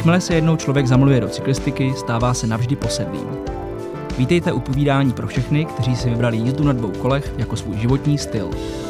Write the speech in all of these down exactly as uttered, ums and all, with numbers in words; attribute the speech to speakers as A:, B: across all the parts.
A: Jakmile se jednou člověk zamiluje do cyklistiky, stává se navždy posedlým. Vítejte u povídání pro všechny, kteří si vybrali jízdu na dvou kolech jako svůj životní styl.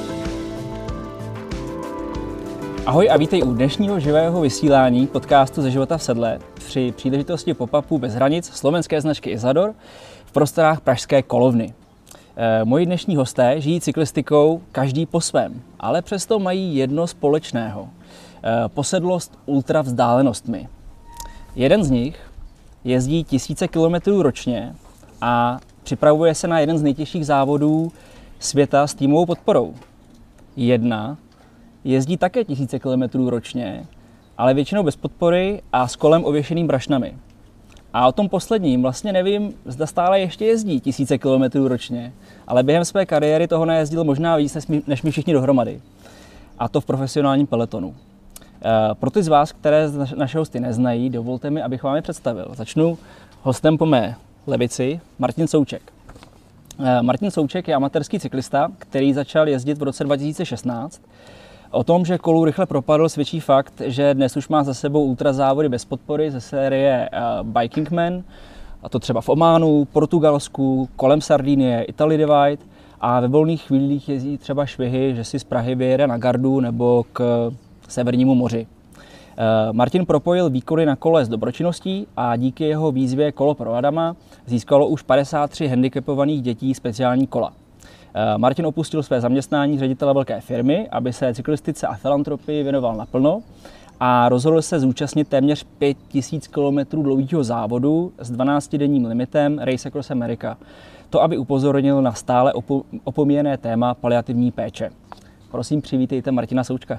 A: Ahoj a vítej u dnešního živého vysílání podcastu Ze života v sedle při příležitosti pop-upu bez hranic slovenské značky Isador v prostorách pražské Kolovny. E, moji dnešní hosté žijí cyklistikou každý po svém, ale přesto mají jedno společného. E, posedlost ultravzdálenostmi. Jeden z nich jezdí tisíce kilometrů ročně a připravuje se na jeden z nejtěžších závodů světa s týmovou podporou. Jedna jezdí také tisíce kilometrů ročně, ale většinou bez podpory a s kolem ověšeným brašnami. A o tom posledním vlastně nevím, zda stále ještě jezdí tisíce kilometrů ročně, ale během své kariéry toho najezdil možná víc než my všichni dohromady. A to v profesionálním peletonu. Pro ty z vás, které naše hosty neznají, dovolte mi, abych vám je představil. Začnu hostem po mé levici, Martin Souček. Martin Souček je amatérský cyklista, který začal jezdit v roce dva tisíce šestnáct. O tom, že kolu rychle propadl, svědčí fakt, že dnes už má za sebou ultrazávody bez podpory ze série Biking Man, a to třeba v Ománu, Portugalsku, kolem Sardinie, Italy Divide, a ve volných chvílích jezdí třeba švihy, že si z Prahy vyjede na Gardu nebo k Severnímu moři. Martin propojil výkony na kole s dobročinností a díky jeho výzvě Kolo pro Adama získalo už padesát tři handicapovaných dětí speciální kola. Martin opustil své zaměstnání ředitele velké firmy, aby se cyklistice a filantropii věnoval naplno a rozhodl se zúčastnit téměř pět tisíc kilometrů dlouhého závodu s dvanáctidenním limitem Race Across America. To, aby upozornil na stále opo- opomíjené téma paliativní péče. Prosím, přivítejte Martina Součka.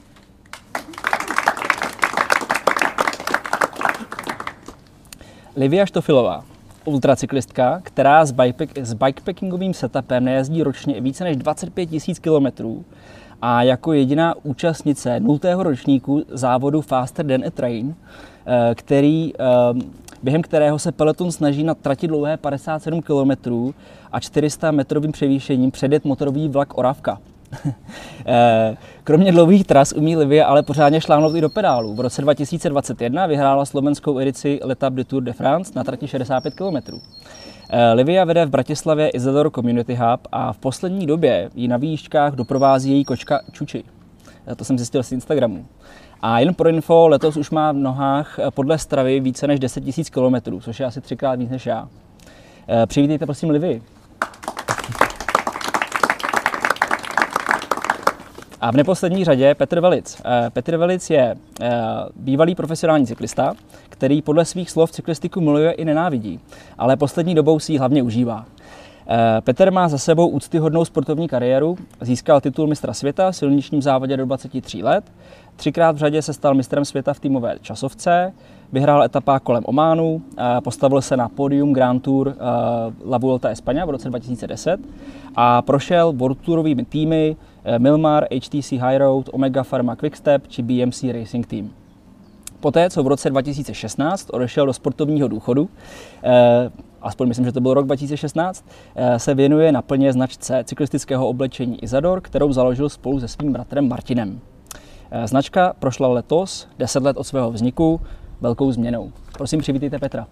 A: Livia Štofilová, ultracyklistka, která s, bikepack, s bikepackingovým setupem nejezdí ročně více než dvacet pět tisíc kilometrů a jako jediná účastnice nultého ročníku závodu Faster Than a Train, který, během kterého se peloton snaží na trati dlouhé padesát sedm kilometrů a čtyři sta metrovým převýšením předjet motorový vlak Oravka. Kromě dlouhých tras umí Livia ale pořádně šláhnout i do pedálu. V roce dva tisíce dvacet jedna vyhrála slovenskou edici L'Etape du Tour de France na trati šedesát pět kilometrů. Livia vede v Bratislavě Isador Community Hub a v poslední době ji na výjížďkách doprovází její kočka Čuči. To jsem zjistil z Instagramu. A jen pro info, letos už má v nohách podle Stravy více než deset tisíc kilometrů, což je asi třikrát víc než já. Přivítejte prosím Livii. A v neposlední řadě Petr Velic. Petr Velic je bývalý profesionální cyklista, který podle svých slov cyklistiku miluje i nenávidí, ale poslední dobou si ji hlavně užívá. Petr má za sebou úctyhodnou sportovní kariéru, získal titul mistra světa v silničním závodě do dvaceti tří let, třikrát v řadě se stal mistrem světa v týmové časovce, vyhrál etapa kolem Ománu, postavil se na pódium Grand Tour La Vuelta España v roce dva tisíce deset a prošel World Tourovými týmy Milmar, H T C High Road, Omega Pharma Quickstep či B M C Racing Team. Poté, co v roce dva tisíce šestnáct odešel do sportovního důchodu, eh, aspoň myslím, že to byl rok dva tisíce šestnáct, eh, se věnuje naplně značce cyklistického oblečení Isador, kterou založil spolu se svým bratrem Martinem. Eh, značka prošla letos, deset let od svého vzniku, velkou změnou. Prosím, přivítejte Petra.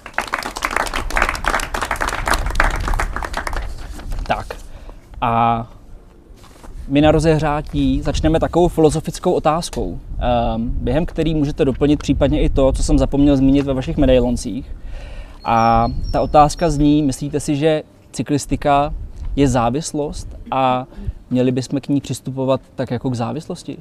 A: Tak a my na rozehřátí začneme takovou filozofickou otázkou, během který můžete doplnit případně i to, co jsem zapomněl zmínit ve vašich medailoncích. A ta otázka zní, myslíte si, že cyklistika je závislost a měli bychom k ní přistupovat tak jako k závislosti?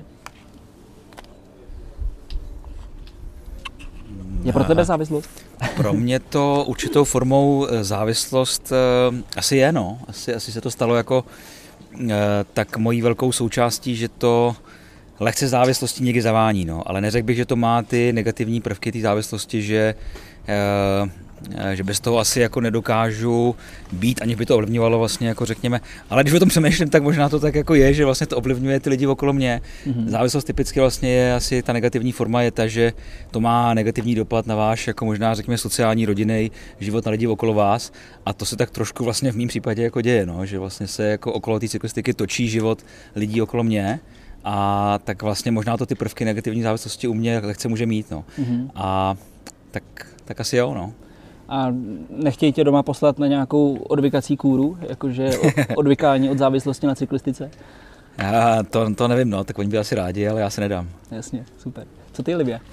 A: Je pro tebe závislost?
B: Pro mě to určitou formou závislost asi je, no. Asi, asi se to stalo jako tak mojí velkou součástí, že to lehce závislosti někdy zavání, no. Ale neřekl bych, že to má ty negativní prvky té závislosti, že, že bez toho asi jako nedokážu být, aniž by to ovlivňovalo vlastně, jako řekněme. Ale když o tom přemýšlím, tak možná to tak jako je, že vlastně to ovlivňuje ty lidi okolo mě. Mm-hmm. Závislost typicky vlastně je asi ta negativní forma je ta, že to má negativní dopad na váš, jako možná řekněme sociální, rodinný život na lidi okolo vás. A to se tak trošku vlastně v mém případě jako děje, no, že vlastně se jako okolo té cyklistiky točí život lidí okolo mě. a tak vlastně možná to ty prvky negativní závislosti u mě lehce může mít, no. Mm-hmm. A tak, tak asi jo, no.
A: A nechtějí tě doma poslat na nějakou odvykací kůru, jakože odvykání od závislosti na cyklistice?
B: Já to, to nevím, no, tak oni by asi rádi, ale já se nedám.
A: Jasně, super. Co ty, Livia?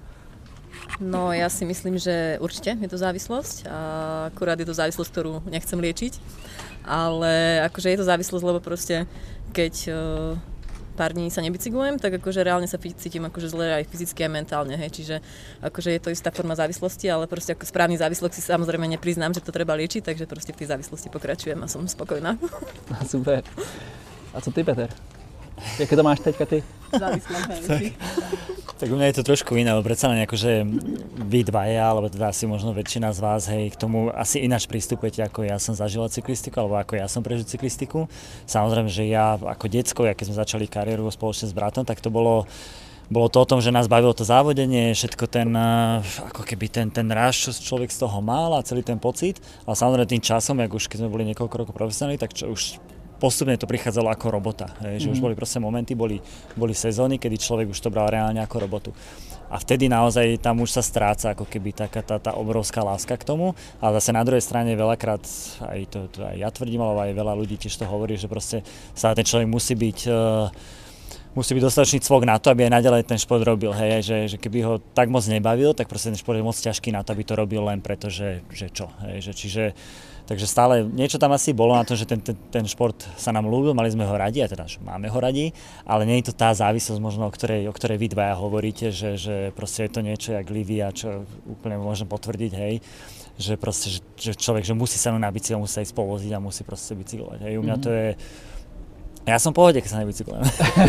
C: No ja si myslím, že určite je to závislosť a akurát je to závislosť, ktorú nechcem liečiť, ale akože je to závislosť, lebo proste keď uh, pár dní sa nebicyklujem, tak akože reálne sa cítim akože zle aj fyzicky, aj mentálne, hej, čiže akože je to istá forma závislosti, ale proste ako správny závislok si samozrejme nepriznám, že to treba liečiť, takže proste v tej závislosti pokračujem a som spokojná.
A: Super. A co ty, Peter? Jaké to máš teďka ty?
C: Závislá, hej.
D: Tak u mňa je to trošku iné, lebo predsa len akože vy dvaja, alebo teda asi možno väčšina z vás, hej, k tomu asi ináč pristupujete, ako ja som zažila cyklistiku, alebo ako ja som prežil cyklistiku. Samozrejme, že ja ako decko, ja keď sme začali kariéru spoločne s bratom, tak to bolo Bolo to o tom, že nás bavilo to závodenie, všetko ten, ako keby ten, ten ráž, čo človek z toho mal a celý ten pocit. Ale samozrejme tým časom, jak už keď sme boli niekoľko rokov profesionálni, tak čo, už postupne to prichádzalo ako robota. Hej, že mm. už boli proste momenty, boli, boli sezóny, kedy človek už to bral reálne ako robotu. A vtedy naozaj tam už sa stráca ako keby taká tá, tá obrovská láska k tomu. A zase na druhej strane veľakrát, aj to, to aj ja tvrdím, ale aj veľa ľudí tiež to hovorí, že proste sa ten človek musí byť uh, musí byť dostatočný cvok na to, aby aj naďalej ten šport robil. Hej, že, že keby ho tak moc nebavil, tak proste ten šport je moc ťažký na to, aby to robil len preto, že, že čo. Hej, že, čiže, takže stále niečo tam asi bolo na to, že ten, ten, ten šport sa nám ľúbil, mali sme ho radi, a teda že máme ho radi, ale nie je to tá závislosť možno, o ktorej, o ktorej vy dvaja hovoríte, že, že proste je to niečo jak Livia, čo úplne môžem potvrdiť, hej, že proste, že, že človek, že musí sa na bicykel, musí sa ísť povoziť a musí proste bicyklovať. Hej, u mňa to je. Ja som v pohode, keď sa nebicyklujem.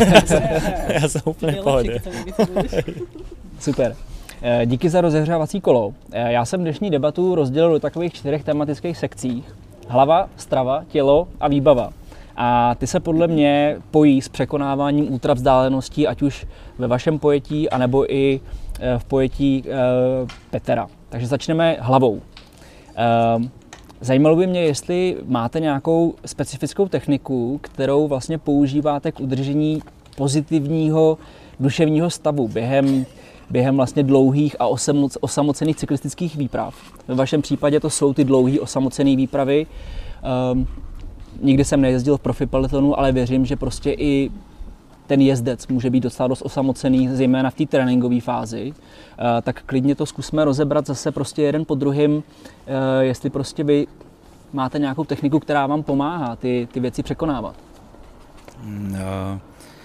D: Já jsem úplně v pohodě.
A: Super. Díky za rozehřávací kolo. Já jsem dnešní debatu rozdělil do takových čtyřech tematických sekcí. Hlava, strava, tělo a výbava. A ty se podle mě pojí s překonáváním ultravzdáleností, ať už ve vašem pojetí, anebo i v pojetí Petra. Takže začneme hlavou. Zajímalo by mě, jestli máte nějakou specifickou techniku, kterou vlastně používáte k udržení pozitivního duševního stavu během, během vlastně dlouhých a osamoc, osamocených cyklistických výprav. Ve vašem případě to jsou ty dlouhé osamocené výpravy. Um, nikdy jsem nejezdil v profi pelotonu, ale věřím, že prostě i ten jezdec může být docela dost osamocený, zejména v té tréninkové fázi, uh, tak klidně to zkusme rozebrat zase prostě jeden po druhým, uh, jestli prostě vy máte nějakou techniku, která vám pomáhá ty, ty věci překonávat.
B: No.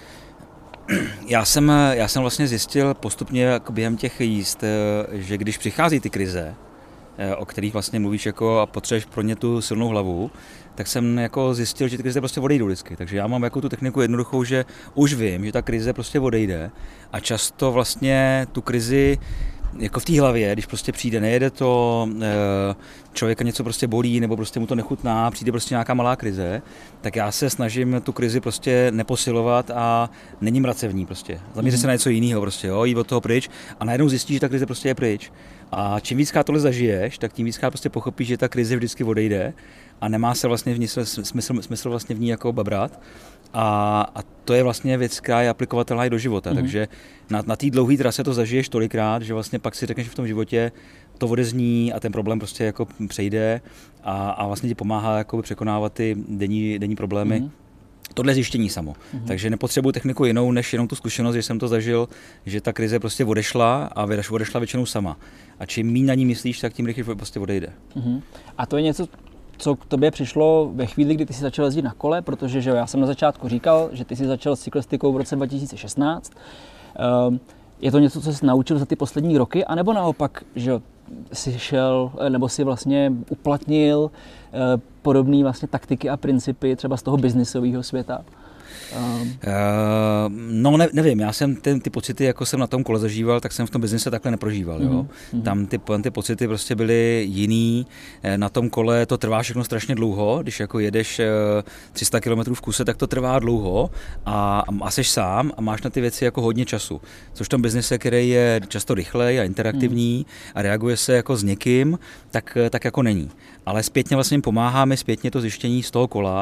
B: Já jsem, já jsem vlastně zjistil postupně jako během těch jízd, že když přichází ty krize, o kterých vlastně mluvíš jako a potřebuješ pro ně tu silnou hlavu, tak jsem jako zjistil, že ty krize prostě odejdou vždycky. Takže já mám jako tu techniku jednoduchou, že už vím, že ta krize prostě odejde a často vlastně tu krizi jako v té hlavě, když prostě přijde, nejede to, člověka něco prostě bolí nebo prostě mu to nechutná, přijde prostě nějaká malá krize, tak já se snažím tu krizi prostě neposilovat a není mrace v ní prostě. Zaměřit mm. se na něco jiného prostě, jo, jít od toho pryč a najednou zjistíš, že ta krize prostě je pryč. A čím víckrát tohle zažiješ, tak tím víckrát prostě pochopíš, že ta krize vždycky odejde a nemá se vlastně v ní smysl, smysl vlastně v ní jako babrat. A, a to je vlastně věc, která je aplikovatelná i do života, mm-hmm. takže na, na té dlouhé trase to zažiješ tolikrát, že vlastně pak si řekneš, že v tom životě to odezní a ten problém prostě jako přejde a, a vlastně ti pomáhá jako překonávat ty denní, denní problémy. Mm-hmm. Tohle je zjištění samo. Mm-hmm. Takže nepotřebuji techniku jinou, než jenom tu zkušenost, že jsem to zažil, že ta krize prostě odešla a odešla většinou sama. A čím méně na ní myslíš, tak tím rychleji prostě odejde.
A: Mm-hmm. A to je něco, co k tobě přišlo ve chvíli, kdy ty jsi začal jezdit na kole, protože že jo, já jsem na začátku říkal, že ty jsi začal s cyklistikou v roce dva tisíce šestnáct. Um, je to něco, co jsi naučil za ty poslední roky, anebo naopak, že jsi šel, nebo si vlastně uplatnil uh, podobné vlastně taktiky a principy třeba z toho biznisového světa? Um.
B: Uh, no ne, nevím, já jsem ten, ty pocity, jako jsem na tom kole zažíval, tak jsem v tom biznise takhle neprožíval. Mm-hmm. Jo? Tam ty, ty pocity prostě byly jiný, na tom kole to trvá všechno strašně dlouho, když jako jedeš tři sta kilometrů v kuse, tak to trvá dlouho a, a seš sám a máš na ty věci jako hodně času. Což v tom biznise, který je často rychlej a interaktivní mm. a reaguje se jako s někým, tak, tak jako není. Ale zpětně vlastně pomáhá mi zpětně to zjištění z toho kola,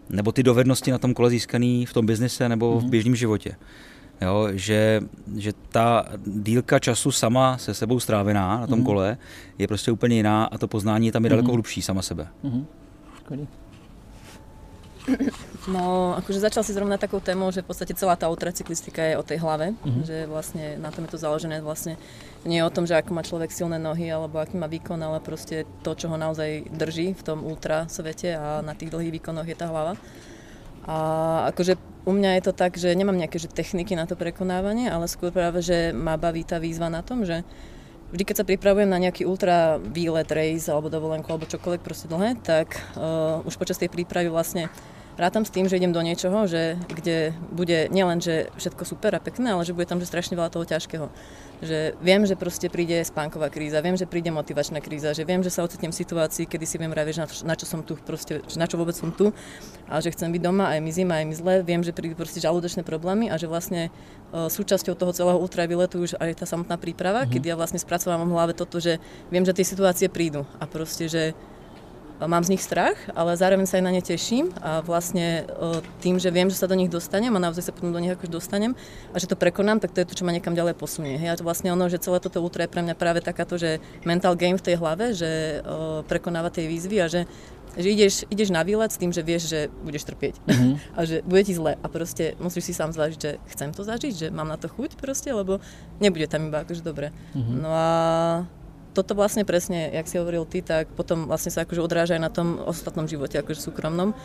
B: nebo ty dovednosti na tom kole získaný v tom biznise nebo v běžném životě. Jo, že, že ta dílka času sama se sebou strávená na tom mm. kole je prostě úplně jiná a to poznání tam je daleko mm. hlubší sama sebe.
A: Mm.
C: No, akože začal si zrovna takou témou, že v podstate celá tá ultracyklistika je o tej hlave, mm-hmm. že vlastne na tom je to založené, vlastne nie je o tom, že ako má človek silné nohy alebo aký má výkon, ale proste to, čo ho naozaj drží v tom ultra svete a na tých dlhých výkonoch je tá hlava. A akože u mňa je to tak, že nemám nejaké že techniky na to prekonávanie, ale skôr práve, že ma baví tá výzva na tom, že vždy, keď sa pripravujem na nejaký ultra výlet, race alebo dovolenku alebo čokoľvek proste dlhé, tak uh, už počas tej prípravy vlastne rátam s tým, že idem do niečoho, že, kde bude nielen, že všetko super a pekné, ale že bude tam že strašne veľa toho ťažkého. Že viem, že proste príde spánková kríza, viem, že príde motivačná kríza, že viem, že sa ocitnem v situácii, kedy si viem vraviť, na, na čo som tu, proste, na čo vôbec som tu, a že chcem byť doma, aj mi zima, aj mi zle, viem, že prídu proste žalúdočné problémy a že vlastne uh, súčasťou toho celého ultravýletu už aj tá samotná príprava, mm-hmm. keď ja vlastne spracovávam v hlave toto, že viem, že tie situácie prídu a proste, že mám z nich strach, ale zároveň sa aj na ne teším a vlastne tým, že viem, že sa do nich dostanem a naozaj sa potom do nich akož dostanem a že to prekonám, tak to je to, čo ma niekam ďalej posunie. Hej. A vlastne ono, že celé toto ultra je pre mňa práve takáto, že mental game v tej hlave, že o, prekonáva tej výzvy a že, že ideš, ideš na výlet s tým, že vieš, že budeš trpieť mm-hmm. a že bude ti zle a proste musíš si sám zvážiť, že chcem to zažiť, že mám na to chuť proste, lebo nebude tam iba akože dobre. Mm-hmm. No a toto vlastne presne, jak si hovoril ty, tak potom vlastne sa akože odráža aj na tom ostatnom živote, akože súkromnom,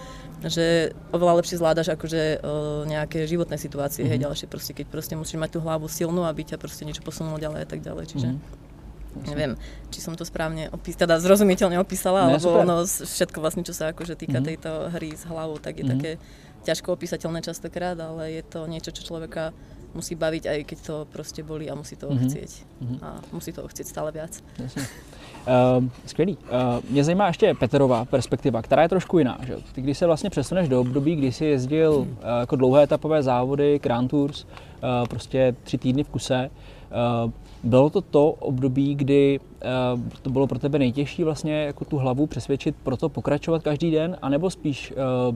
C: že oveľa lepšie zvládaš akože o, nejaké životné situácie, mm-hmm. hej, ďalšie proste, keď proste musíš mať tú hlavu silnú, aby ťa proste niečo posunulo ďalej a tak ďalej, čiže mm-hmm. neviem, či som to správne opísala, teda zrozumiteľne opísala, alebo ono všetko vlastne, čo sa akože týka mm-hmm. tejto hry s hlavou, tak je mm-hmm. také ťažko opísateľné častokrát, ale je to niečo, čo človeka musí baviť, aj keď to proste bolí a musí toho mm-hmm. chcieť. Mm-hmm. A musí toho chcieť stále viac.
A: Jasně. Uh, skvělý. Uh, mě zajímá ještě Peterová perspektiva, která je trošku jiná. Že? Ty, když se vlastně přesuneš do období, kdy jsi jezdil uh, jako dlouhé etapové závody, Grand Tours, uh, prostě tři týdny v kuse, uh, bylo to to období, kdy uh, to bylo pro tebe nejtěžší vlastně jako tu hlavu přesvědčit pro to pokračovat každý den, anebo spíš uh,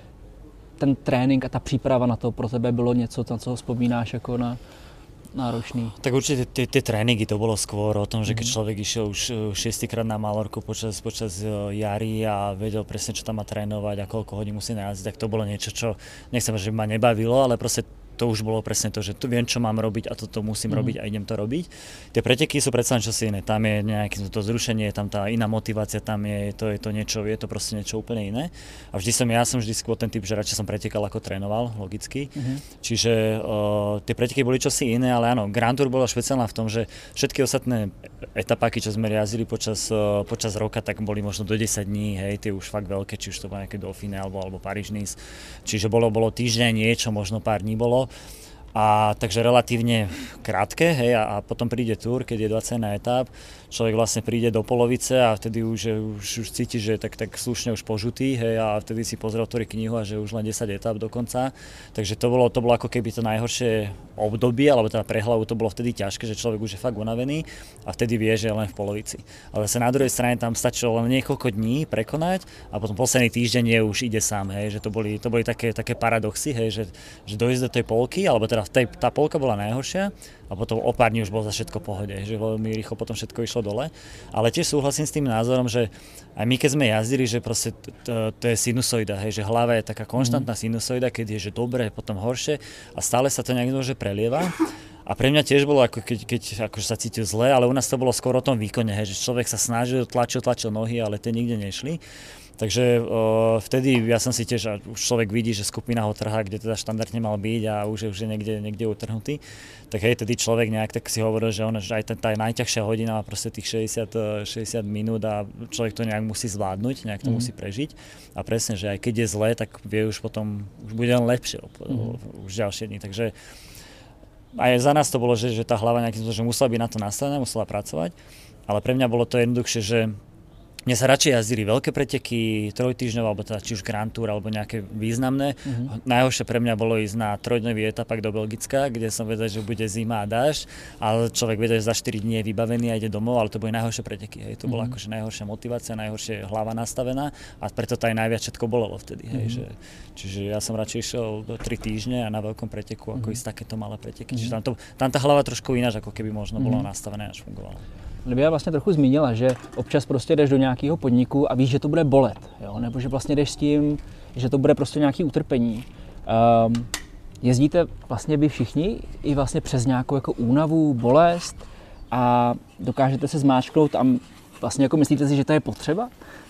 A: ten trénink a ta příprava na to pro tebe bylo něco, na co vzpomínáš jako na náročný?
D: Tak určite tie, tie tréningy to bolo skôr o tom, že keď človek išiel už šiestýkrát na Malorku počas, počas jary a vedel presne, čo tam má trénovať a koľko hodín musí najazdiť, tak to bolo niečo, čo nechcem, že ma nebavilo, ale proste to už bolo presne to, že tu viem, čo mám robiť a toto musím mm. robiť a idem to robiť. Tie preteky sú predsa len čosi iné. Tam je nejaké to zrušenie, je tam tá iná motivácia, tam je to, je to niečo, je to proste niečo úplne iné. A vždy som, ja som vždy skôr ten typ, že radšej som pretekal ako trénoval, logicky. Mm-hmm. Čiže uh, tie preteky boli čosi iné, ale áno, Grand Tour bola špeciálna v tom, že všetky ostatné etapáky, čo sme jazdili počas, uh, počas roka, tak boli možno do desať dní, hej, tie už fakt veľké, či už to bolo nejaké Dauphine alebo, alebo Paríž-Nice. Čiže bolo, bolo týždeň niečo, možno pár dní bolo. A takže relatívne krátke, hej, a, a potom príde túr, keď je dvadsaťjeden etap, človek vlastne príde do polovice a vtedy už, už, už cíti, že tak, tak slušne už požutý, hej, a vtedy si pozrie otvorí knihu a že už len desať etap dokonca. Takže to bolo, to bolo ako keby to najhoršie obdobie, alebo teda pre hlavu to bolo vtedy ťažké, že človek už je fakt unavený a vtedy vie, že je len v polovici. Ale sa na druhej strane tam stačilo len niekoľko dní prekonať a potom posledný týždeň je už ide sám, hej, že to boli, to boli také, také paradoxy, hej, že, že dojsť do tej polky, alebo teda v tej, tá polka bola najhoršia a potom o pár dní už bolo za všetko v pohode, že veľmi rýchlo potom všetko išlo dole. Ale tiež súhlasím s tým názorom, že aj my keď sme jazdili, že proste to, to je sinusoida, hej, že hlava je taká konštantná sinusoida, keď je že dobre, potom horšie a stále sa to nejak že prelieva. A pre mňa tiež bolo, ako keď, keď akože sa cítil zle, ale u nás to bolo skôr o tom výkone, hej, že človek sa snažil, tlačil, tlačil nohy, ale tie nikde nešli. Takže o, vtedy ja som si tiež, a už človek vidí, že skupina ho trhá, kde teda štandardne mal byť a už je, už je niekde, niekde utrhnutý. Tak hej, tedy človek nejak tak si hovoril, že, on, že aj tá, tá najťažšia hodina má proste tých šesťdesiat, šesťdesiat minút a človek to nejak musí zvládnuť, nejak to mm. musí prežiť. A presne, že aj keď je zle, tak vie už potom, už bude len lepšie mm. už ďalšie dní. Takže aj za nás to bolo, že, že tá hlava nejakým spôsobom, že musela byť na to nastavená, musela pracovať, ale pre mňa bolo to jednoduchšie, že Mne sa radšej jazdili veľké preteky, trojtýždňové, alebo teda či už Grand Tour, alebo nejaké významné. Mm-hmm. Najhoršie pre mňa bolo ísť na trojdňový etapak do Belgicka, kde som vedel, že bude zima a dážď, ale človek vedel, že za štyri dní je vybavený a ide domov, ale to boli najhoršie preteky. Hej. To bola mm-hmm. akože najhoršia motivácia, najhoršie hlava nastavená a preto to aj najviac všetko bolelo vtedy. Hej. Mm-hmm. Že, čiže ja som radšej išiel do tri týždne a na veľkom preteku, ako mm-hmm. ísť takéto malé preteky. Mm-hmm. Čiže tam, to, tam tá hlava trošku ináč, ako keby možno mm-hmm. bola nastavená, až fungovala.
A: Libia vlastně trochu zmínila, že občas prostě jdeš do nějakého podniku a víš, že to bude bolet, jo? Nebo že vlastně jdeš s tím, že to bude prostě nějaké utrpení. Um, jezdíte vlastně vy všichni i vlastně přes nějakou jako únavu, bolest a dokážete se zmáčknout a vlastně jako myslíte si, že to je potřeba?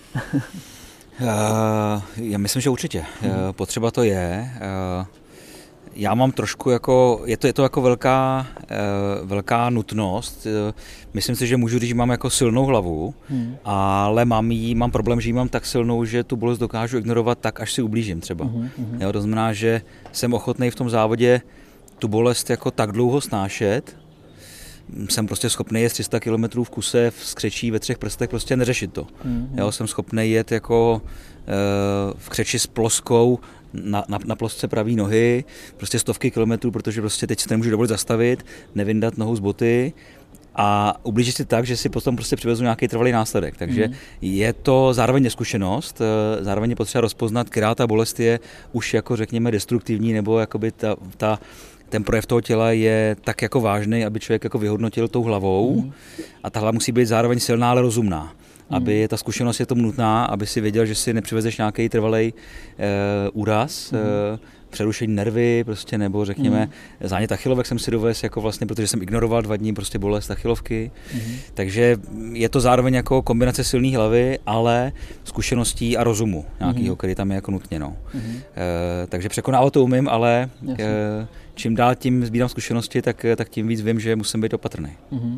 B: uh, já myslím, že určitě. Uh, potřeba to je. Uh, Já mám trošku jako, je to, je to jako velká, uh, velká nutnost. Uh, myslím si, že můžu říct, že mám jako silnou hlavu, hmm. ale mám, jí, mám problém, že ji mám tak silnou, že tu bolest dokážu ignorovat tak, až si ublížím třeba. Hmm. Hmm. Jo, to znamená, že jsem ochotný v tom závodě tu bolest jako tak dlouho snášet. Jsem prostě schopný jet tři sta kilometrů v kuse v skřečí ve třech prstech, prostě neřešit to. Hmm. Jo, jsem schopný jet jako uh, v křeči s ploskou, Na, na, na plosce pravý nohy, prostě stovky kilometrů, protože prostě teď si to nemůžu dovolit zastavit, nevyndat nohou z boty a ublížit si tak, že si potom prostě přivezu nějaký trvalý následek. Takže mm. je to zároveň neskušenost, zároveň je potřeba rozpoznat, která ta bolest je už jako řekněme destruktivní, nebo jakoby ta, ta, ten projev toho těla je tak jako vážný, aby člověk jako vyhodnotil tou hlavou mm. a ta hlava musí být zároveň silná, ale rozumná. Aby ta zkušenost je tomu nutná, aby si věděl, že si nepřivezeš nějaký trvalej e, úraz, mm. e, přerušení nervy, prostě, nebo řekněme mm. zánět achilovek jsem si dovez, jako vlastně, protože jsem ignoroval dva dní prostě bolest achilovky. Mm. Takže je to zároveň jako kombinace silné hlavy, ale zkušeností a rozumu nějakého, mm. který tam je jako nutně. No. Mm. E, takže překonávat to umím, ale e, čím dál tím sbírám zkušenosti, tak, tak tím víc vím, že musím být opatrný. Mm.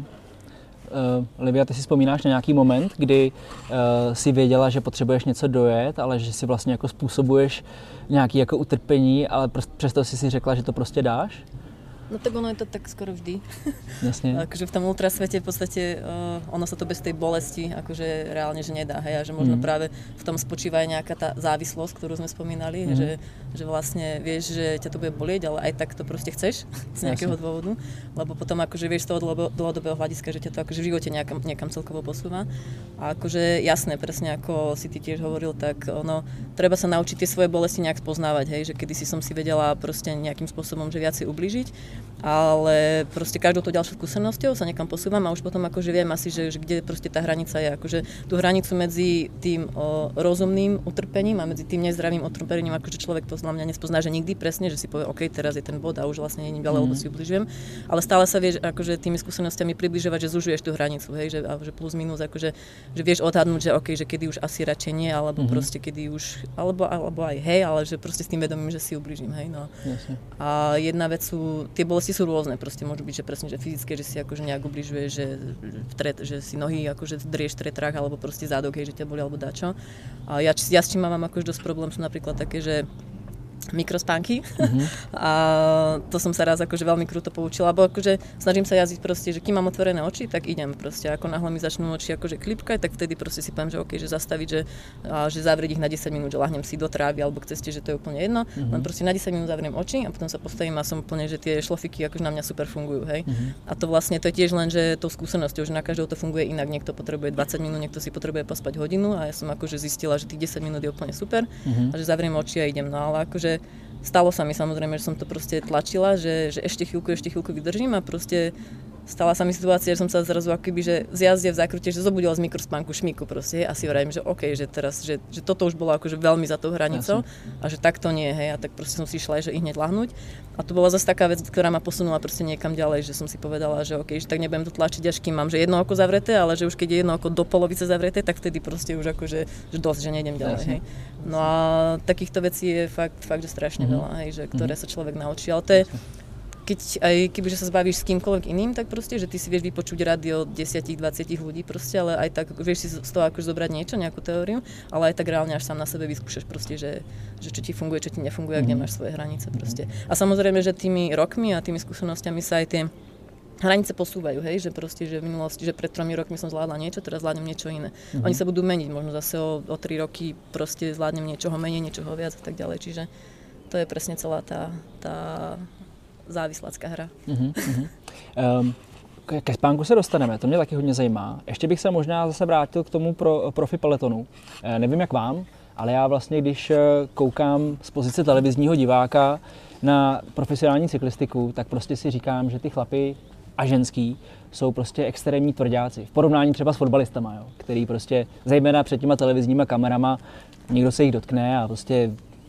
A: Uh, Livia, ty si vzpomínáš na nějaký moment, kdy uh, si věděla, že potřebuješ něco dojet, ale že si vlastně jako způsobuješ nějaké jako utrpení, ale přesto si si řekla, že to prostě dáš?
C: No tak ono je to tak skoro vždy.
A: Jasne.
C: Akože v tom ultrasvete v podstate uh, ono sa to bez tej bolesti akože reálne že nedá, hej, a že možno mm. práve v tom spočíva aj nejaká tá závislosť, ktorú sme spomínali, mm. že, že vlastne vieš, že ťa to bude bolieť, ale aj tak to proste chceš z nejakého Jasne. Dôvodu, lebo potom akože vieš z toho dlhodobého hľadiska, že ťa to akože v živote nejakam, niekam celkovo posúva. A akože jasné, presne ako si ty tiež hovoril, tak ono, treba sa naučiť tie svoje bolesti nejak spoznávať, hej, že kedysi som si vedela proste nejakým spôsobom, že viac si ublížiť, ale proste každou to ďalšou skúsenosťou sa niekam posúvam a už potom akože viem asi, že, že kde proste tá hranica je. Akože tú hranicu medzi tým o, rozumným utrpením a medzi tým nezdravým utrpením, akože človek to na mňa nespozná, že nikdy presne, že si povie, OK, teraz je ten bod a už vlastne nie je ďalej, mm. lebo si ubližujem. Ale stále sa vieš akože tými skúsenostiami približovať, že zužuješ tú hranicu, hej, že, že plus minus, akože že vieš odhadnúť, že OK, že kedy už asi radšej nie, alebo mm-hmm. proste kedy už, alebo, alebo aj hej, ale že proste s tým vedomím, že si ubližím, hej, no. Jasne. A jedna vec sú, tie bolesti sú rôzne, proste môžu byť, že presne, že fyzické, že si akože nejak ubližuješ, že, tret, že si nohy akože drieš v tretrách, alebo proste zádok, hej, že ťa boli, alebo dačo. A ja, ja s čím mám akože dosť problém, sú napríklad také, že mikrospánky mm-hmm. a to som sa raz akože veľmi kruto poučila, lebo akože snažím sa jazdiť proste, že kým mám otvorené oči, tak idem proste, ako náhle mi začnú oči akože klipkať, tak vtedy proste si poviem, že OK, že zastaviť, že, a, že zavrieť ich na desať minút, že lahnem si do trávy alebo k ceste, že to je úplne jedno, mm-hmm. len proste na desať minút zavriem oči a potom sa postavím a som úplne, že tie šlofiky akože na mňa super fungujú, hej. Mm-hmm. A to vlastne to je tiež len, že tou skúsenosťou, že na každého to funguje inak, niekto potrebuje dvadsať minút, niekto si potrebuje pospať hodinu a ja som akože zistila, že tých desať minút je úplne super mm-hmm. a že zavriem oči a idem, no ale akože stalo sa mi samozrejme, že som to proste tlačila, že, že ešte chvíľku, ešte chvíľku vydržím a proste stala sa mi situácia, že som sa zrazu akoby, že z jazde v zákrute, že zobudila z mikrospánku šmíku proste a si vravím, že OK, že teraz, že, že toto už bolo akože veľmi za tou hranicou a že takto nie, hej, a tak proste som si išla aj, že i hneď lahnúť a to bola zase taká vec, ktorá ma posunula proste niekam ďalej, že som si povedala, že OK, že tak nebudem to tlačiť, až kým mám, že jedno oko zavreté, ale že už keď je jedno oko do polovice zavreté, tak vtedy proste už akože, že dosť, že nejdem ďalej, hej. No a takýchto vecí je fakt, fakt že strašne mm-hmm. veľa, hej, že ktoré sa človek naučí, ale to je keď aj kebyže sa zbavíš s kýmkoľvek iným, tak proste, že ty si vieš vypočuť rady od desať dvadsať ľudí proste, ale aj tak vieš si z toho akože zobrať niečo, nejakú teóriu, ale aj tak reálne až sám na sebe vyskúšaš proste, že, že čo ti funguje, čo ti nefunguje, mm. kde máš svoje hranice proste. A samozrejme, že tými rokmi a tými skúsenostiami sa aj tie hranice posúvajú, hej, že proste, že v minulosti, že pred tromi rokmi som zvládla niečo, teraz zvládnem niečo iné. Mm-hmm. Oni sa budú meniť, možno zase o, o tri roky proste zvládnem niečoho menej, niečoho viac a tak ďalej, čiže to je presne celá tá, tá závislácká hra. Mm-hmm.
A: um, ke spánku se dostaneme, to mě taky hodně zajímá. Ještě bych se možná zase vrátil k tomu pro, profi peletonu. E, nevím jak vám, ale já vlastně, když koukám z pozice televizního diváka na profesionální cyklistiku, tak prostě si říkám, že ty chlapy a ženský jsou prostě extrémní tvrdáci. V porovnání třeba s fotbalistama, jo, který prostě, zejména před těma televizníma kamerama, někdo se jich dotkne a prostě,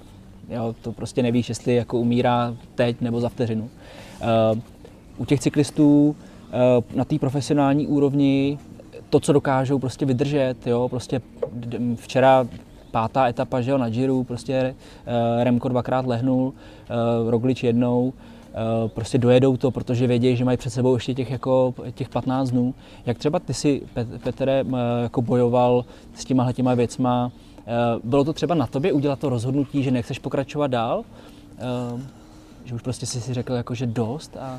A: jo, to prostě nevíš, jestli jako umírá teď nebo za vteřinu. Uh, u těch cyklistů uh, na té profesionální úrovni to, co dokážou prostě vydržet, jo, prostě včera pátá etapa, že jo, na Giro, prostě uh, Remko dvakrát lehnul, uh, Roglič jednou, uh, prostě dojedou to, protože vědí, že mají před sebou ještě těch, jako, těch patnáct dnů. Jak třeba ty si, Petere, uh, jako bojoval s těma těma věcma, uh, bylo to třeba na tobě udělat to rozhodnutí, že nechceš pokračovat dál? Uh, že už prostě si si řekl, jako, že dost a...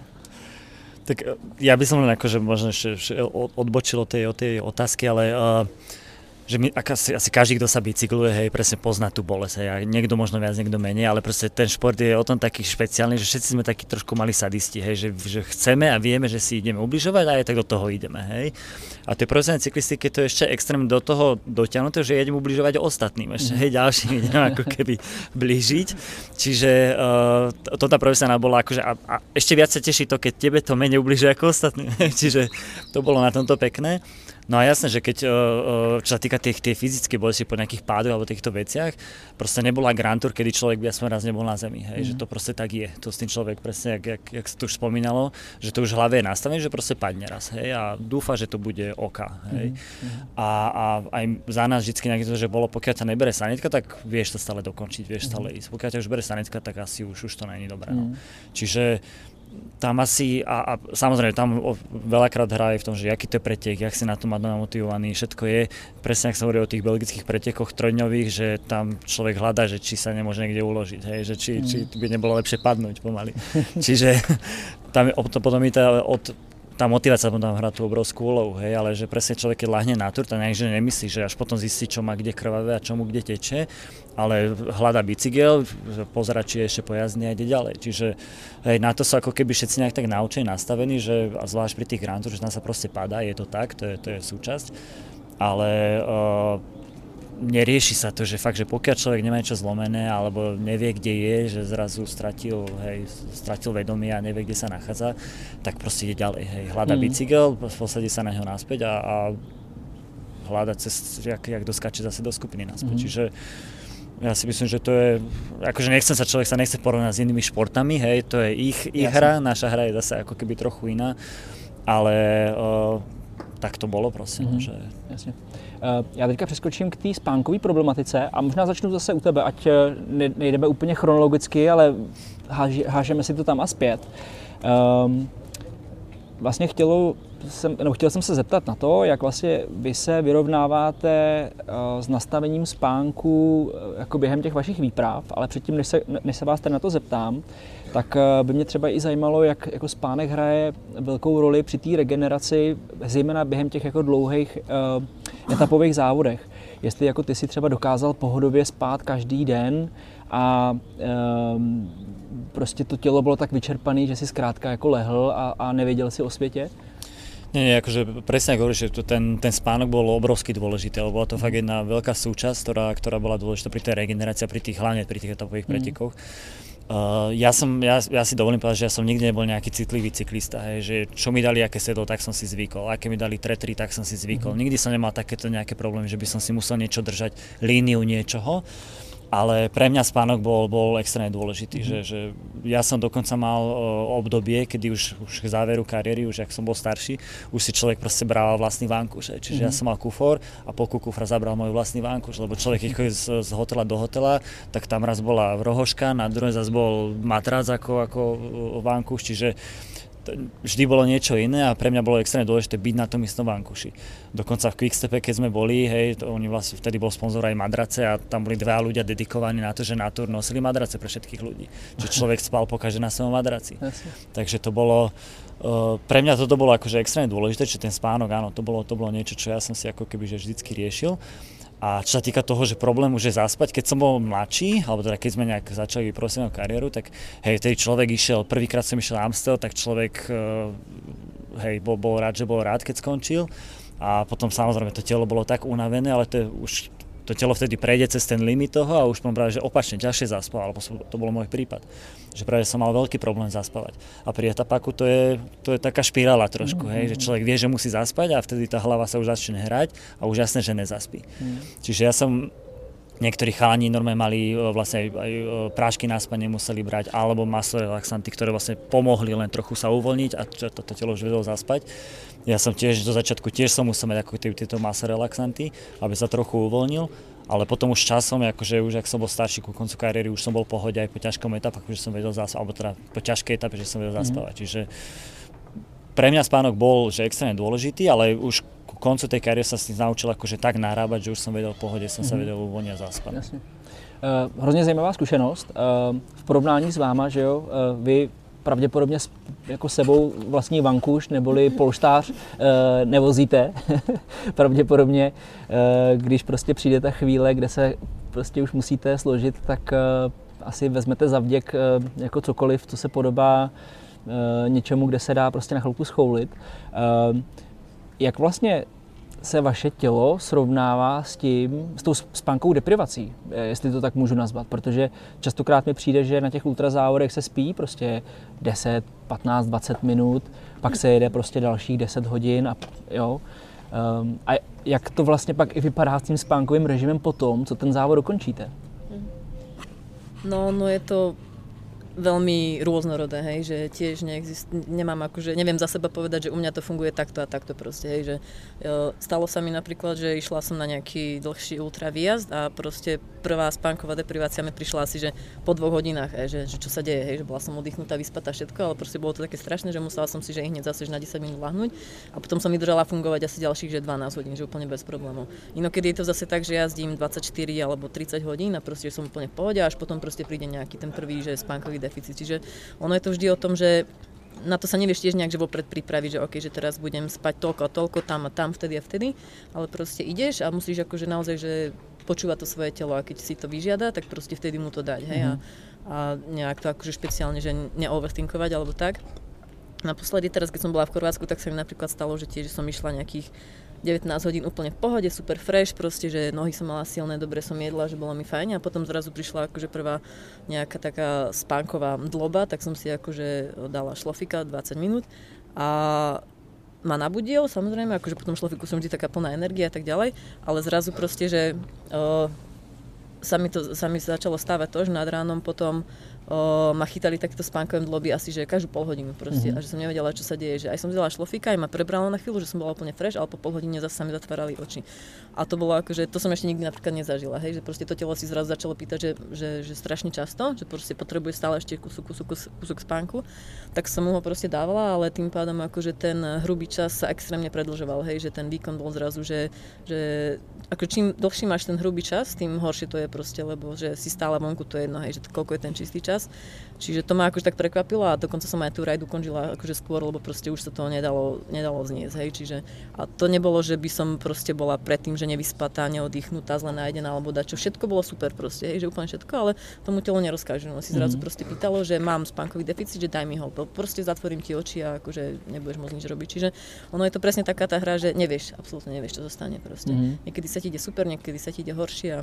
D: Tak ja by som len akože možno ešte odbočil od tej, od tej otázky, ale uh, že my, asi, asi každý, kto sa bicykluje, hej, presne pozná tú bolesť, hej, a niekto možno viac, niekto menej, ale proste ten šport je o tom taký špeciálny, že všetci sme takí trošku mali sadisti, hej, že, že chceme a vieme, že si ideme ubližovať a aj tak do toho ideme, hej. A tej profesionálnej cyklistike to je ešte extrém do toho dotiahnuté, že idem ubližovať ostatným, ešte, hej, ďalším idem ako keby blížiť. Čiže uh, to tá profesionálna bola akože, a, a ešte viac sa teší to, keď tebe to menej ubližuje ako ostatným, čiže to bolo na tomto pekné. No a jasné, že keď, čo sa týka tých, tých fyzických bolesti po nejakých pádoch alebo týchto veciach, proste nebola Grand Tour, kedy človek by aspoň raz nebol na zemi, hej, mm. že to proste tak je. To s tým človek presne, jak, jak, jak sa tu už spomínalo, že to už v hlave je nastavené, že proste padne raz, hej, a dúfa, že to bude oka, hej. Mm. A, a aj za nás vždycky nejaké to, že bolo, pokiaľ ťa nebere sanitka, tak vieš to stále dokončiť, vieš mm. stále ísť. Pokiaľ ťa už bere sanitka, tak asi už, už to není dobré, no. Mm. Čiže tam asi, a, a samozrejme tam veľakrát hrá aj v tom, že aký to je pretek, jak si na to má namotivovaný, všetko je, presne ak sa hovorí o tých belgických pretekoch trojdňových, že tam človek hľadá, že či sa nemôže niekde uložiť, hej, že či, mm. či by nebolo lepšie padnúť pomaly. Čiže tam je, potom je tá, od, tá motivácia tam hrá tú obrovskú úlohu, hej, ale že presne človek, keď ľahne na tur, tak nejak, nemyslí, že až potom zistí, čo má kde krvavé a čo mu kde teče, ale hľadá bicykel, pozerá, či je ešte pojazdný a ide ďalej. Čiže hej, na to sú ako keby všetci nejak tak naučení, nastavení, že a zvlášť pri tých Grand Tour, že tam sa proste padá, je to tak, to je, to je súčasť, ale uh, nerieši sa to, že fakt, že pokiaľ človek nemá niečo zlomené alebo nevie, kde je, že zrazu stratil, hej, stratil vedomie a nevie, kde sa nachádza, tak proste ide ďalej, hej, hľadá mm. bicykel, posadí sa na ňo naspäť a, a hľadá cez, jak, jak doskáče zase do skupiny naspäť. Mm. Čiže ja si myslím, že to je, akože nechcem sa, človek sa nechce porovnať s inými športami, hej, to je ich, ich hra, naša hra je zase ako keby trochu iná, ale uh, tak to bolo proste, mm-hmm. že...
A: Jasně. Uh, já teďka přeskočím k té spánkové problematice a možná začnu zase u tebe, ať ne, nejdeme úplně chronologicky, ale háži, hážeme si to tam a zpět. Um, vlastně chtělo jsem, no, chtěl jsem se zeptat na to, jak vlastně vy se vyrovnáváte uh, s nastavením spánku uh, jako během těch vašich výprav, ale předtím, než se, než se vás tady na to zeptám, tak uh, by mě třeba i zajímalo, jak jako spánek hraje velkou roli při té regeneraci, zejména během těch jako dlouhých uh, etapových závodech. Jestli jako ty si třeba dokázal pohodově spát každý den a um, prostě to tělo bylo tak vyčerpané, že si zkrátka jako lehl a, a nevěděl si o světě?
D: Nie, nie, akože presne ako hovoríš, že ten, ten spánok bol obrovsky dôležitý, lebo bola to fakt jedna veľká súčasť, ktorá, ktorá bola dôležitá pri tej regenerácii, pri tých, hlavne pri tých etapových mm. pretekoch. Uh, ja, som, ja, ja si dovolím povedať, že ja som nikdy nebol nejaký citlivý cyklista, hej, že čo mi dali, aké sedlo, tak som si zvykol, aké mi dali tretry, tak som si zvykol. Mm. Nikdy som nemal takéto nejaké problémy, že by som si musel niečo držať, líniu niečoho. Ale pre mňa spánok bol, bol extrémne dôležitý, mm-hmm. že, že ja som dokonca mal uh, obdobie, kedy už, už k záveru kariéry, už ak som bol starší, už si človek proste bral vlastný vankúš. Čiže mm-hmm. ja som mal kufor a po kufra zabral môj vlastný vankúš, lebo človek, keď chodí z, z hotela do hotela, tak tam raz bola rohoška, na druhej zase bol matrác ako, ako vankúš, čiže vždy bolo niečo iné a pre mňa bolo extrémne dôležité byť na tom istom vankuši. Dokonca v Quickstepe, keď sme boli, hej, to oni vlastne vtedy bol sponzor aj madrace a tam boli dva ľudia dedikovaní na to, že na túr nosili madrace pre všetkých ľudí. Čiže človek spal pokaže na svojom madraci. Takže to bolo, uh, pre mňa toto bolo akože extrémne dôležité, čiže ten spánok, áno, to bolo, to bolo niečo, čo ja som si ako keby že vždycky riešil. A čo sa týka toho, že problém už je zaspať, keď som bol mladší, alebo teda keď sme nejak začali profesionálnu kariéru, tak hej, vtedy človek išiel, prvýkrát som išiel Amstel, tak človek hej, bol, bol rád, že bol rád, keď skončil. A potom samozrejme to telo bolo tak unavené, ale to je už to telo vtedy prejde cez ten limit toho a už som práve, že opačne ťažšie zaspal, alebo to bol môj prípad. Že práve som mal veľký problém zaspávať. A pri etapáku to je, to je taká špirála trošku, mm-hmm. hej, že človek vie, že musí zaspať a vtedy tá hlava sa už začne hrať a už jasné, že nezaspí. Mm. Čiže ja som, niektorí chalani normálne mali vlastne aj, aj prášky na spanie museli brať, alebo masorelaxanty, ktoré vlastne pomohli len trochu sa uvoľniť a to, to telo už vedelo zaspať. Ja som tiež do začiatku tiež som musel mať ako tieto masorelaxanty, aby sa trochu uvoľnil, ale potom už časom, akože už ak som bol starší ku koncu kariéry, už som bol v pohode aj po ťažkom etape, že som vedel zaspať, alebo teda po ťažkej etape, že som vedel mm. zaspávať. Čiže pre mňa spánok bol že extrémne dôležitý, ale už ku koncu tej kariéry sa s tým naučil akože tak narábať, že už som vedel v pohode, som mm. sa vedel uvoľniť a zaspať.
A: Jasně. Uh, hrozně zajímavá zkušenost. Uh, v porovnání s váma, že jo, uh, vy pravděpodobně jako sebou vlastní vankuš neboli polštář e, nevozíte. Pravděpodobně, e, když prostě přijde ta chvíle, kde se prostě už musíte složit, tak e, asi vezmete za vděk e, jako cokoliv, co se podobá e, něčemu, kde se dá prostě na chvilku schoulit. E, jak vlastně se vaše tělo srovnává s tím, s tou spánkovou deprivací, jestli to tak můžu nazvat, protože častokrát mi přijde, že na těch ultrazávodech se spí prostě deset, patnáct, dvacet minut, pak se jede prostě dalších deset hodin a jo. Um, a jak to vlastně pak i vypadá s tím spánkovým režimem potom, co ten závod dokončíte?
C: No, no je to veľmi rôznorodé, hej, že tiež neexist, nemám akože, neviem za seba povedať, že u mňa to funguje takto a takto proste, hej, že jo, stalo sa mi napríklad, že išla som na nejaký dlhší ultra výjazd a proste prvá spánková deprivácia mi prišla asi, že po dvoch hodinách, hej, že, že čo sa deje, hej, že bola som oddychnutá, vyspatá všetko, ale proste bolo to také strašné, že musela som si, že hneď zase na desať minút lahnúť a potom som vydržala fungovať asi ďalších, že dvanásť hodín, že úplne bez problémov. Inokedy je to zase tak, že jazdím dvadsaťštyri alebo tridsať hodín a proste som úplne v pohode a až potom proste príde nejaký ten prvý, že spánkový deficit. Čiže ono je to vždy o tom, že na to sa nevieš tiež nejak že vopred pripraviť, že okej, že teraz budem spať toľko a toľko, tam a tam, vtedy a vtedy, ale proste ideš a musíš akože naozaj, že počúvať to svoje telo a keď si to vyžiada, tak proste vtedy mu to dať, hej, mm-hmm. a, a nejak to akože špeciálne, že neoverthinkovať alebo tak. Naposledy teraz, keď som bola v Chorvátsku, tak sa mi napríklad stalo, že tiež som išla nejakých devätnásť hodín úplne v pohode, super fresh, proste, že nohy som mala silné, dobre som jedla, že bolo mi fajn a potom zrazu prišla akože prvá nejaká taká spánková dloba, tak som si akože dala šlofika dvadsať minút a ma nabudil, samozrejme, akože potom šlofiku som vždy taká plná energie a tak ďalej, ale zrazu proste, že uh, sa mi to sa mi začalo stávať to, že nad ránom potom O, ma chytali takéto spánkové dloby asi, že každú pol hodinu proste mm-hmm. a že som nevedela, čo sa deje, že aj som vzala šlofíka, aj ma prebralo na chvíľu, že som bola úplne fresh, ale po pol hodine zase sa mi zatvárali oči. A to bolo akože, to som ešte nikdy napríklad nezažila, hej, že proste to telo si zrazu začalo pýtať, že, že, že strašne často, že proste potrebuje stále ešte kúsok, kúsok, kúsok spánku, tak som mu ho proste dávala, ale tým pádom akože ten hrubý čas sa extrémne predĺžoval, hej, že ten výkon bol zrazu, že, že ako čím dlhší máš ten hrubý čas, tým horšie to je proste, lebo že si stále vonku, to je jedno, hej, že koľko je ten čistý čas. Čiže to ma akože tak prekvapilo a dokonca som aj tú rajdu končila akože skôr, lebo proste už sa to nedalo, nedalo zniesť, hej, čiže a to nebolo, že by som proste bola predtým, že nevyspatá, neoddychnutá, zle najedená alebo dačo, všetko bolo super proste, hej, že úplne všetko, ale tomu telo nerozkáže, no si zrazu mm-hmm. proste pýtalo, že mám spánkový deficit, že daj mi ho, proste zatvorím ti oči a akože nebudeš môcť nič robiť, čiže ono je to presne taká tá hra, že nevieš, absolútne nevieš, čo zostane proste. Mm-hmm. Niekedy sa ti ide super, niekedy sa ti ide horšie a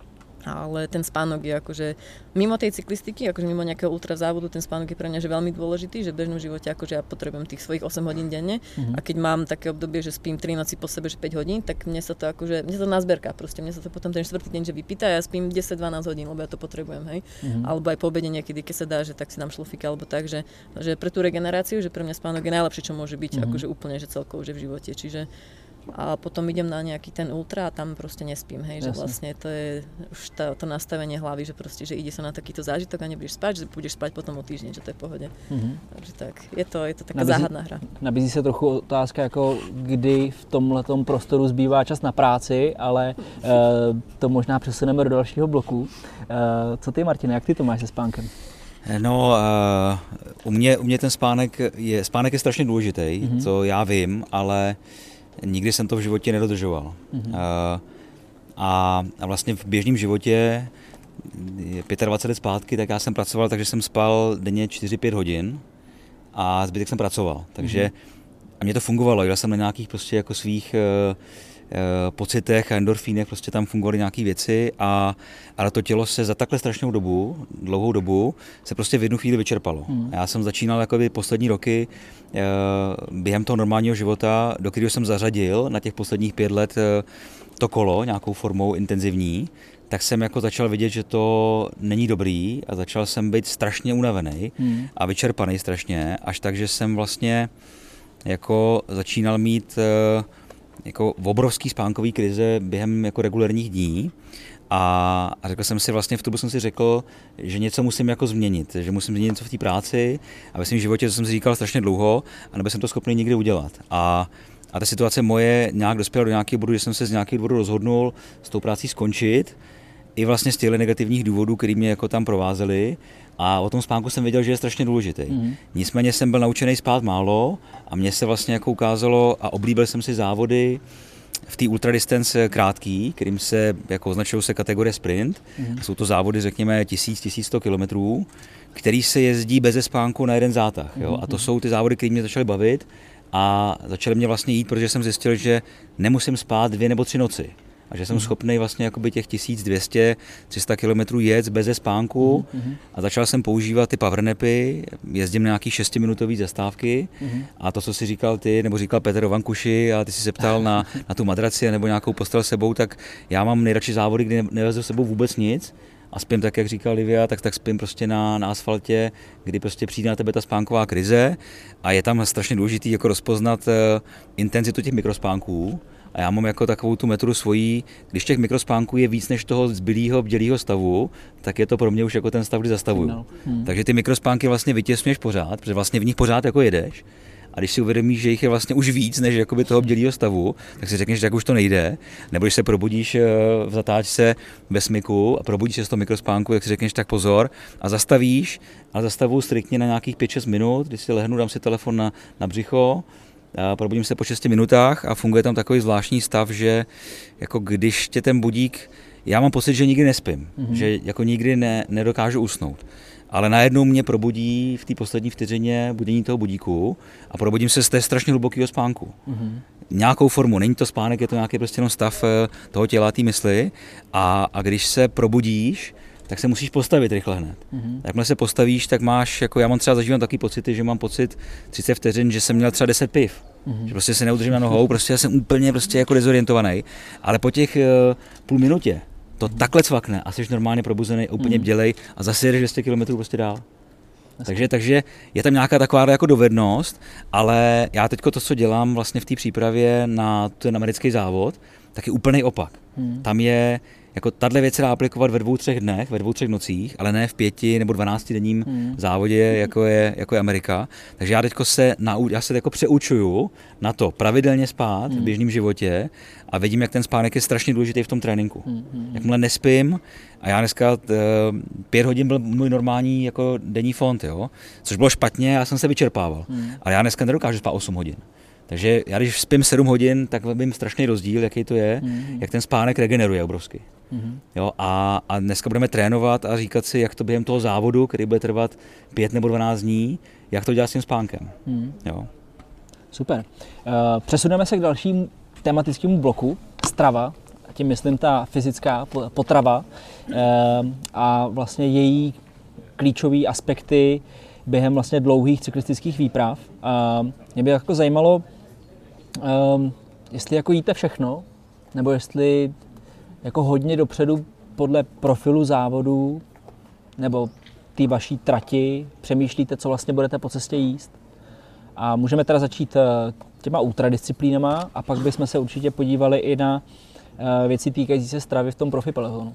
C: ale ten spánok je akože mimo tej cyklistiky, akože mimo nejakého ultrazávodu, ten spánok je pre mňa že veľmi dôležitý, že v bežnom živote akože ja potrebujem tých svojich osem hodín denne mm-hmm. a keď mám také obdobie, že spím tri noci po sebe, že päť hodín, tak mne sa to akože, mne sa to nazberka proste, mne sa to potom ten štvrtý deň, že vypýta a ja spím desať dvanásť hodín, lebo ja to potrebujem, hej. Mm-hmm. Alebo aj po obede niekedy, keď sa dá, že tak si dám šlofika alebo tak, že, že pre tú regeneráciu, že pre mňa spánok je najlepšie, čo môže byť, mm-hmm. akože úplne, že celkovo, že v živote, čiže a potom idem na nejaký ten ultra a tam proste nespím, hej, že vlastne to je už tá, to nastavenie hlavy, že proste, že ide sa na takýto zážitok a nebudeš spať, že budeš spať potom o týždeň, že to je v pohode. Mm-hmm. Takže tak, je to, je to taká nabízí, záhadná hra.
A: Nabízí se trochu otázka, jako kdy v tomhletom prostoru zbývá čas na práci, ale e, to možná přesuneme do dalšího bloku. E, co ty, Martine, jak ty to máš se spánkem?
B: No, uh, u, mě, u mě ten spánek je, spánek je strašně důležitý, mm-hmm. to já vím, ale nikdy jsem to v životě nedodržoval. Mm-hmm. Uh, a, a vlastně v běžném životě, dvacet pět let zpátky, tak já jsem pracoval, takže jsem spal denně čtyři pět hodin a zbytek jsem pracoval. Takže mm-hmm. a mě to fungovalo, jel jsem na nějakých prostě jako svých uh, uh, pocitech a endorfínech, prostě tam fungovaly nějaké věci a ale to tělo se za takhle strašnou dobu, dlouhou dobu, se prostě v jednu chvíli vyčerpalo. Mm. Já jsem začínal jakoby poslední roky uh, během toho normálního života, do kterého jsem zařadil na těch posledních pět let uh, to kolo nějakou formou intenzivní, tak jsem jako začal vidět, že to není dobrý a začal jsem být strašně unavený mm. a vyčerpaný strašně, až tak, že jsem vlastně jako začínal mít uh, jako obrovský spánkový krize během jako regulérních dní. A, a řekl jsem si vlastně, v tom jsem si řekl, že něco musím jako změnit, že musím změnit něco v té práci a ve svém životě, co jsem si říkal strašně dlouho, a nebyl jsem to schopný nikdy udělat. A, a ta situace moje nějak dospěla do nějakého bodu, že jsem se z nějakého důvodu rozhodnul s tou prací skončit, i vlastně z těch negativních důvodů, které mě jako tam provázely. A o tom spánku jsem věděl, že je strašně důležitý. Mm. Nicméně jsem byl naučený spát málo a mně se vlastně jako ukázalo a oblíbil jsem si závody v té ultradistance krátký, kterým se jako označují se kategorie sprint. Mm. Jsou to závody, řekněme, tisíc, tisíc sto kilometrů, který se jezdí beze spánku na jeden zátah. Jo? A to jsou ty závody, které mě začaly bavit a začaly mě vlastně jít, protože jsem zjistil, že nemusím spát dvě nebo tři noci. A že jsem mm. schopný vlastně jakoby těch tisíc dvě stě, tři sta kilometrů jet beze spánku mm. a začal jsem používat ty powernapy, jezdím na nějaký šestiminutový zastávky mm. a to, co si říkal ty, nebo říkal Petr o vankuši a ty si se ptal na, na tu madraci nebo nějakou postel sebou, tak já mám nejradši závody, kdy nevezu sebou vůbec nic a spím tak, jak říkal Livia, tak, tak spím prostě na, na asfaltě, kdy prostě přijde na tebe ta spánková krize a je tam strašně důležitý jako rozpoznat uh, intenzitu těch mikrospánků. A já mám jako takovou tu metodu svojí, když těch mikrospánků je víc než toho zbylého bdělého stavu, tak je to pro mě už jako ten stav, kdy zastavuju. No. Hmm. Takže ty mikrospánky vlastně vytěsňuješ pořád, protože vlastně v nich pořád jako jedeš. A když si uvědomíš, že jich je vlastně už víc než jakoby toho bdělého stavu, tak si řekneš, že tak už to nejde. Nebo když se probudíš v zatáčce ve smyku a probudíš se z toho mikrospánku, tak si řekneš, tak pozor a zastavíš a zastavuju striktně na nějakých pět šest minut, když si lehnu, dám si telefon na, na břicho, a probudím se po šesti minutách a funguje tam takový zvláštní stav, že jako když tě ten budík, já mám pocit, že nikdy nespím, mm-hmm. že jako nikdy ne, nedokážu usnout. Ale najednou mě probudí v té poslední vteřině budění toho budíku a probudím se z té strašně hlubokého spánku. Mm-hmm. Nějakou formu, není to spánek, je to nějaký prostě jenom stav toho těla, té mysli a, a když se probudíš, tak se musíš postavit rychle hned. Mm-hmm. Jakmile se postavíš, tak máš, jako já mám třeba zažívám taky pocity, že mám pocit třicet vteřin, že jsem měl třeba deset piv. Mm-hmm. Že prostě se neudržím na nohou, prostě já jsem úplně prostě jako dezorientovaný. Ale po těch uh, půl minutě to mm-hmm. takhle cvakne a jsi normálně probuzený, úplně mm-hmm. bdělej a zase jedeš dvě stě kilometrů prostě dál. Takže, takže je tam nějaká taková jako dovednost, ale já teďko to, co dělám vlastně v té přípravě na ten americký závod, tak je úplný opak. Mm. Tam je jako tahle věc se dá aplikovat ve dvou, třech dnech, ve dvou, třech nocích, ale ne v pěti nebo dvanáctidenním hmm. závodě, jako je, jako je Amerika. Takže já teďko se, nau, já se jako přeučuju na to pravidelně spát hmm. v běžném životě a vidím, jak ten spánek je strašně důležitý v tom tréninku. Hmm. Jakmile nespím, a já dneska t, pět hodin byl můj normální jako denní fond, jo? Což bylo špatně, já jsem se vyčerpával. Hmm. Ale já dneska nedokážu spát osm hodin. Takže já když spím sedm hodin, tak vím strašný rozdíl, jaký to je, mm-hmm. jak ten spánek regeneruje obrovsky. Mm-hmm. Jo, a, a dneska budeme trénovat a říkat si, jak to během toho závodu, který bude trvat pět nebo dvanáct dní, jak to dělat s tím spánkem. Mm. Jo.
A: Super. Uh, přesuneme se k dalšímu tematickému bloku, strava, tím myslím ta fyzická potrava uh, a vlastně její klíčové aspekty během vlastně dlouhých cyklistických výprav. Uh, mě by jako zajímalo, um, jestli jako jíte všechno, nebo jestli jako hodně dopředu podle profilu závodu nebo té vaší trati přemýšlíte, co vlastně budete po cestě jíst. A můžeme teda začít těma ultradisciplínama a pak bychom se určitě podívali i na uh, věci týkající se stravy v tom profi pelotonu.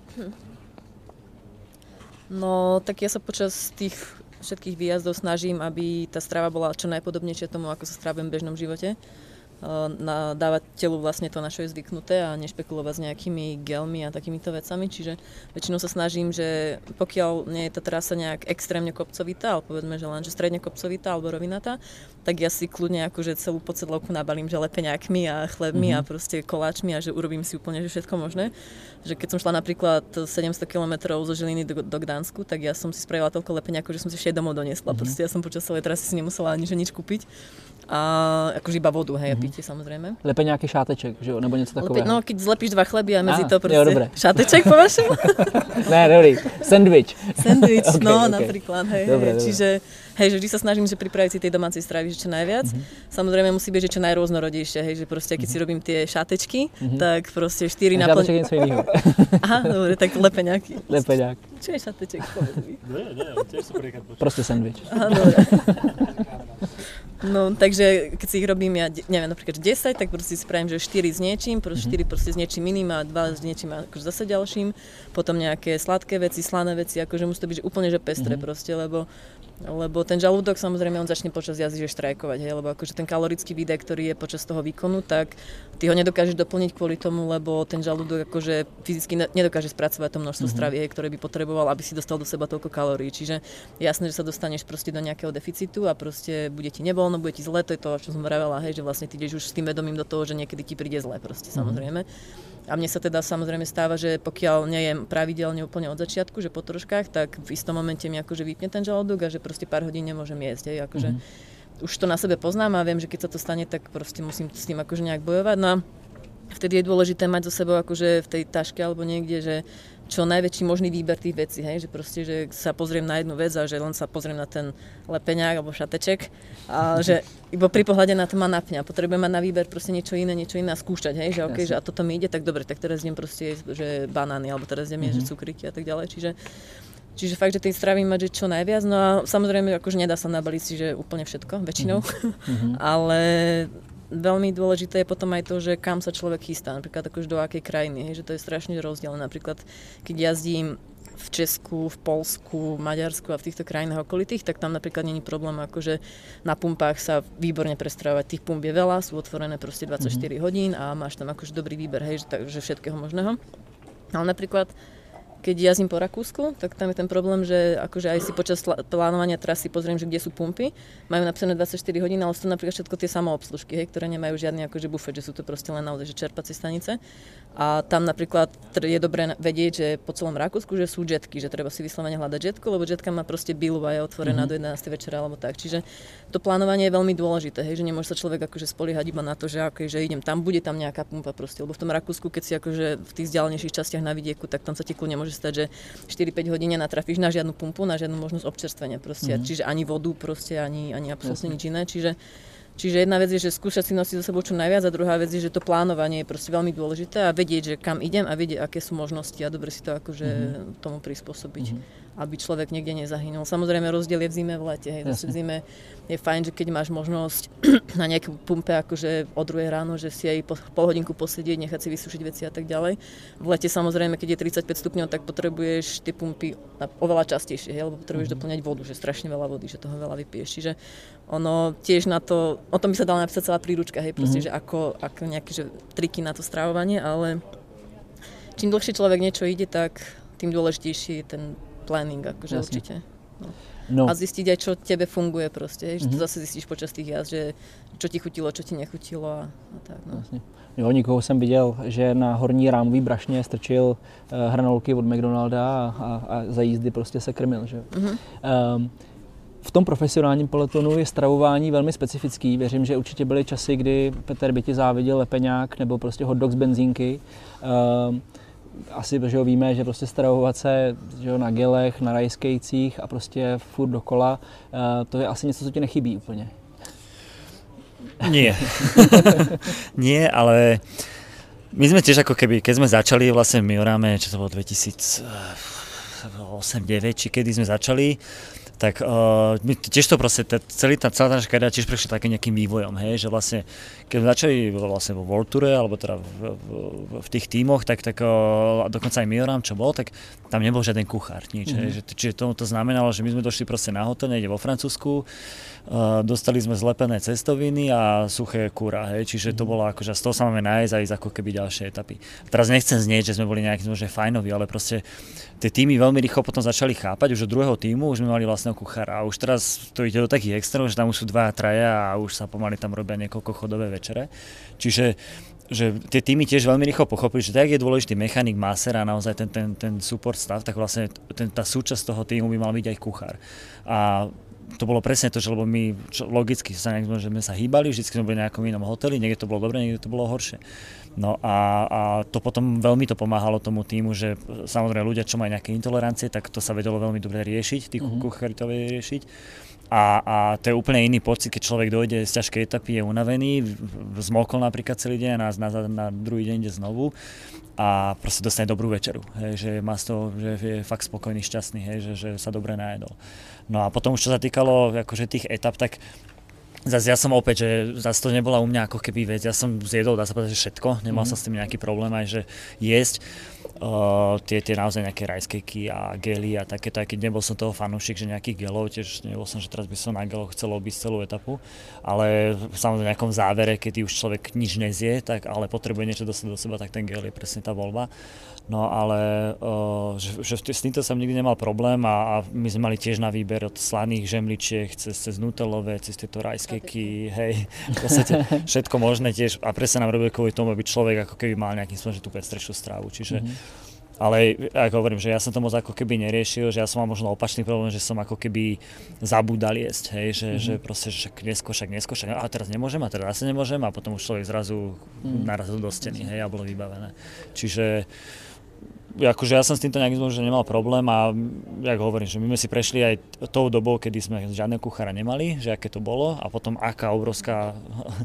C: No, tak ja sa počas tých všetkých výjazdov snažím, aby tá strava bola čo najpodobnejšia tomu, ako sa strávujem v bežnom živote. Na, dávať telu vlastne to, na čo je zvyknuté a nešpekulovať s nejakými gelmi a takýmito vecami. Čiže väčšinou sa snažím, že pokiaľ nie je tá trasa nejak extrémne kopcovitá, ale povedzme, že len že stredne kopcovitá alebo rovinatá, tak ja si kľudne akože celú podsedlovku nabalím, že lepeňákmi a chlebmi mm-hmm. a proste koláčmi a že urobím si úplne že všetko možné. Že keď som šla napríklad sedemsto kilometrov zo Žiliny do, do Gdansku, tak ja som si spravila toľko lepeňákov, že som si ešte domov doniesla. Mm-hmm. Proste ja som počas celej trasy si nemusela ani že nič kúpiť. A akože iba vodu, hej, mm-hmm. a pitie samozrejme.
A: Lepeňáky šáteček, že jo, nebo něco takového.
C: Lepe, no, keď zlepíš dva chleby a mezi
A: ah,
C: to prostě
A: jo, dobré.
C: šáteček po vašemu?
A: Ne, dobrý, sandwich.
C: Sandwich,
A: okay,
C: no
A: okay.
C: napríklad, hej,
A: dobre,
C: hej. Čiže, hej, že vždy sa snažím, že pripraviť si tej domácej stravy, že čo najviac. Mm-hmm. Samozrejme musí byť, že čo najrôznorodejšie, hej, že proste, keď mm-hmm. si robím tie šátečky, mm-hmm. tak proste štyri na
A: plň... Šáteček je něco jiného.
C: Aha, dobre, tak lepeňáky.
A: Lepeňák.
C: Čo je šáteček, povedz mi?
D: Nie, nie, tiež som prvýkrát počul.
A: Proste sandwich.
C: Aha, dobre. No, takže keď si ich robím, ja neviem, napríklad desať, tak proste si spravím, že štyri s niečím, proste štyri proste s niečím iným a dva s niečím akože zase ďalším. Potom nejaké sladké veci, slané veci, akože musí to byť že úplne že pestré mm-hmm. proste, lebo lebo ten žalúdok samozrejme on začne počas jazdy že štrajkovať, hej, lebo akože ten kalorický výdaj, ktorý je počas toho výkonu, tak ty ho nedokážeš doplniť kvôli tomu, lebo ten žalúdok akože fyzicky nedokáže spracovať to množstvo mm-hmm. stravy, hej, ktoré by potreboval, aby si dostal do seba toľko kalórií. Čiže jasné, že sa dostaneš proste do nejakého deficitu a proste bude ti nevoľno, bude ti zle, to je to, čo som vravela, hej, že vlastne ty ideš už s tým vedomím do toho, že niekedy ti príde zle proste, samozrejme. A mne sa teda samozrejme stáva, že pokiaľ nejem pravidelne úplne od začiatku, že po troškách, tak v istom momente mi akože vypne ten žalúdok a že proste pár hodín nemôžem jesť, hej, akože mm-hmm. už to na sebe poznám a viem, že keď sa to stane, tak proste musím s tým akože nejak bojovať. No a vtedy je dôležité mať so sebou akože v tej taške alebo niekde, že čo najväčší možný výber tých vecí, hej, že proste, že sa pozriem na jednu vec a že len sa pozriem na ten lepeňák alebo šateček a že iba pri pohľade na to ma napňa. Potrebujem mať na výber proste niečo iné, niečo iné a skúšať, hej, že okej, okay, že a toto mi ide, tak dobre, tak teraz idem proste že banány alebo teraz idem mm-hmm. že cukríky a tak ďalej, čiže Čiže fakt, že tej stravy mať, že čo najviac, no a samozrejme akože nedá sa nabaliť si, že úplne všetko, väčšinou, mm-hmm. ale veľmi dôležité je potom aj to, že kam sa človek chystá, napríklad akože do akej krajiny, hej, že to je strašne rozdielne. Napríklad, keď jazdím v Česku, v Poľsku, v Maďarsku a v týchto krajinách okolitých, tak tam napríklad není problém, akože na pumpách sa výborne prestravovať. Tých pump je veľa, sú otvorené proste dvadsaťštyri mm-hmm. hodín a máš tam akože dobrý výber, hej, takže všetkého možného. Ale napríklad keď jazdím po Rakúsku, tak tam je ten problém, že akože aj si počas plánovania trasy pozriem, že kde sú pumpy. Majú napísané dvadsaťštyri hodín, ale sú to napríklad všetko tie samoobslužky, hej, ktoré nemajú žiadny akože bufet, že sú to proste len naozaj že čerpacie stanice. A tam napríklad je dobré vedieť, že po celom Rakúsku, že sú jetky, že treba si vyslovene hľadať jetku, lebo jetka má proste bilu a je otvorená mm-hmm. do jedenástej večera alebo tak. Čiže to plánovanie je veľmi dôležité, hej, že nemôže sa človek akože spoliehať iba na to, že okay, že idem tam, bude tam nejaká pumpa proste, lebo v tom Rakúsku, keď si akože v tých vzdialenejších častiach na vidieku, tak tam sa ti kľudne môže stať, že štyri päť hodín natrafíš na žiadnu pumpu, na žiadnu možnosť občerstvenia proste, mm-hmm. čiže ani vodu proste, ani, ani absolútne nič iné, čiže Čiže jedna vec je, že skúšať si nosiť so sebou čo najviac a druhá vec je, že to plánovanie je proste veľmi dôležité a vedieť, že kam idem a vedieť, aké sú možnosti a dobre si to akože mm-hmm. tomu prispôsobiť, mm-hmm. aby človek niekde nezahynul. Samozrejme rozdiel je v zime, v lete, hej, zase v zime je fajn, že keď máš možnosť na nejakú pumpe akože o druhej ráno, že si aj po, pol hodinku posedieť, nechať si vysušiť veci a tak ďalej. V lete samozrejme, keď je tridsaťpäť stupňov, tak potrebuješ tie pumpy oveľa častejšie, hej, lebo potrebuješ mm-hmm. doplňať vodu, že strašne veľa vody, že toho veľa vypiješ. Čiže ono tiež na to, o tom by sa dala napísať celá príručka, hej, proste, mm-hmm. že ako, ako nejaké že, triky na to stravovanie, ale čím dlhšie človek niečo ide, tak tým dôležitejší je ten planning, akože Jasne. určite. No. No. A zistiť aj, čo tebe funguje proste, hej, že mm-hmm. to zase zistíš počas tých jazd, že čo ti chutilo, čo ti nechutilo a, a tak. No.
A: Jasne. Jo, nikoho jsem viděl, že na horní rámový brašně strčil uh, hranolky od McDonalda a, a, a za jízdy prostě se krmil, že jo. Mm-hmm. Um, V tom profesionálním pelotonu je stravování velmi specifický. Věřím, že určitě byly časy, kdy Petr by ti záviděl lepeňák nebo prostě hot dog z benzínky. Um, asi že jo, víme, že prostě stravovat se že jo, na gelech, na rajskejcích a prostě furt dokola, uh, to je asi něco, co ti nechybí úplně.
D: Nie. Nie, ale my sme tiež ako keby, keď sme začali vlastne v Mioráme, čo to bolo dvetisícosem deväť, či kedy sme začali, tak uh, my tiež to proste, tá, celý tá, celá tá naša kariéra tiež prešla takým nejakým vývojom, hej, že vlastne, keď sme začali vlastne vo World Toure, alebo teda v, v, v tých tímoch, tak, tak uh, dokonca aj Mioram, čo bol, tak tam nebol žiaden kuchár, nič, mm-hmm. hej, že, čiže to, to znamenalo, že my sme došli proste na hotel, niekde vo Francúzsku, uh, dostali sme zlepené cestoviny a suché kura, hej, čiže mm-hmm. to bolo akože, z toho sa máme nájsť a ísť ako keby ďalšie etapy. Teraz nechcem znieť, že sme boli nejaký možno fajnoví, ale proste tie týmy veľmi rýchlo potom začali chápať, už od druhého týmu už sme mali vlastného kuchára a už teraz to ide do takých extrémov, že tam už sú dva traja a už sa pomaly tam robia niekoľko chodové večere. Čiže že tie týmy tiež veľmi rýchlo pochopili, že tak je dôležitý mechanik, maser a naozaj ten, ten, ten support stav, tak vlastne ten, tá súčasť toho týmu by mal byť aj kuchár. A to bolo presne to, že lebo my čo, logicky sa, že sme sa hýbali, vždy sme boli na nejakom inom hoteli, niekde to bolo dobre, niekde to bolo horšie. No a, a to potom veľmi to pomáhalo tomu týmu, že samozrejme ľudia, čo majú nejaké intolerancie, tak to sa vedelo veľmi dobre riešiť, tí uh-huh. kuchári to vedeli riešiť. A, a to je úplne iný pocit, keď človek dojde z ťažkej etapy, je unavený, zmokol napríklad celý deň a na, na, na druhý deň ide znovu a proste dostane dobrú večeru, hej, že má z toho, že je fakt spokojný, šťastný, hej, že, že sa dobre najedol. No a potom už čo sa týkalo akože tých etap, tak zase ja som opäť, že zase to nebola u mňa ako keby vec, ja som zjedol, dá sa povedať, že všetko, nemal mm. som s tým nejaký problém aj, že jesť uh, tie, tie naozaj nejaké rice cakey a gely a takéto, aj keď nebol som toho fanúšik, že nejakých gelov, tiež nebol som, že teraz by som na geloch chcel obísť celú etapu, ale samozrejme v nejakom závere, keď už človek nič nezie, tak ale potrebuje niečo dostať do seba, tak ten gel je presne tá voľba. No ale uh, že, že s týmto som nikdy nemal problém a, a my sme mali tiež na výber od slaných žemličiek cez, cez nutelové, cez tieto rice cakey, hej, v podstate všetko možné tiež a presne nám robili kvôli tomu, aby človek ako keby mal nejakým spôsobom tú pestrejšiu strávu, čiže mm-hmm. Ale ako hovorím, že ja som to moc ako keby neriešil, že ja som mal možno opačný problém, že som ako keby zabúdal jesť, hej, že, mm-hmm. že proste však neskôr, však neskôr, však a teraz nemôžem a teraz zase nemôžem a potom už človek zrazu mm-hmm. narazil do steny, hej, a bolo vybavené. Čiže akože ja som s týmto nejakým že nemal problém a jak hovorím, že my sme si prešli aj tou dobou, kedy sme žiadneho kuchára nemali, že aké to bolo a potom aká obrovská,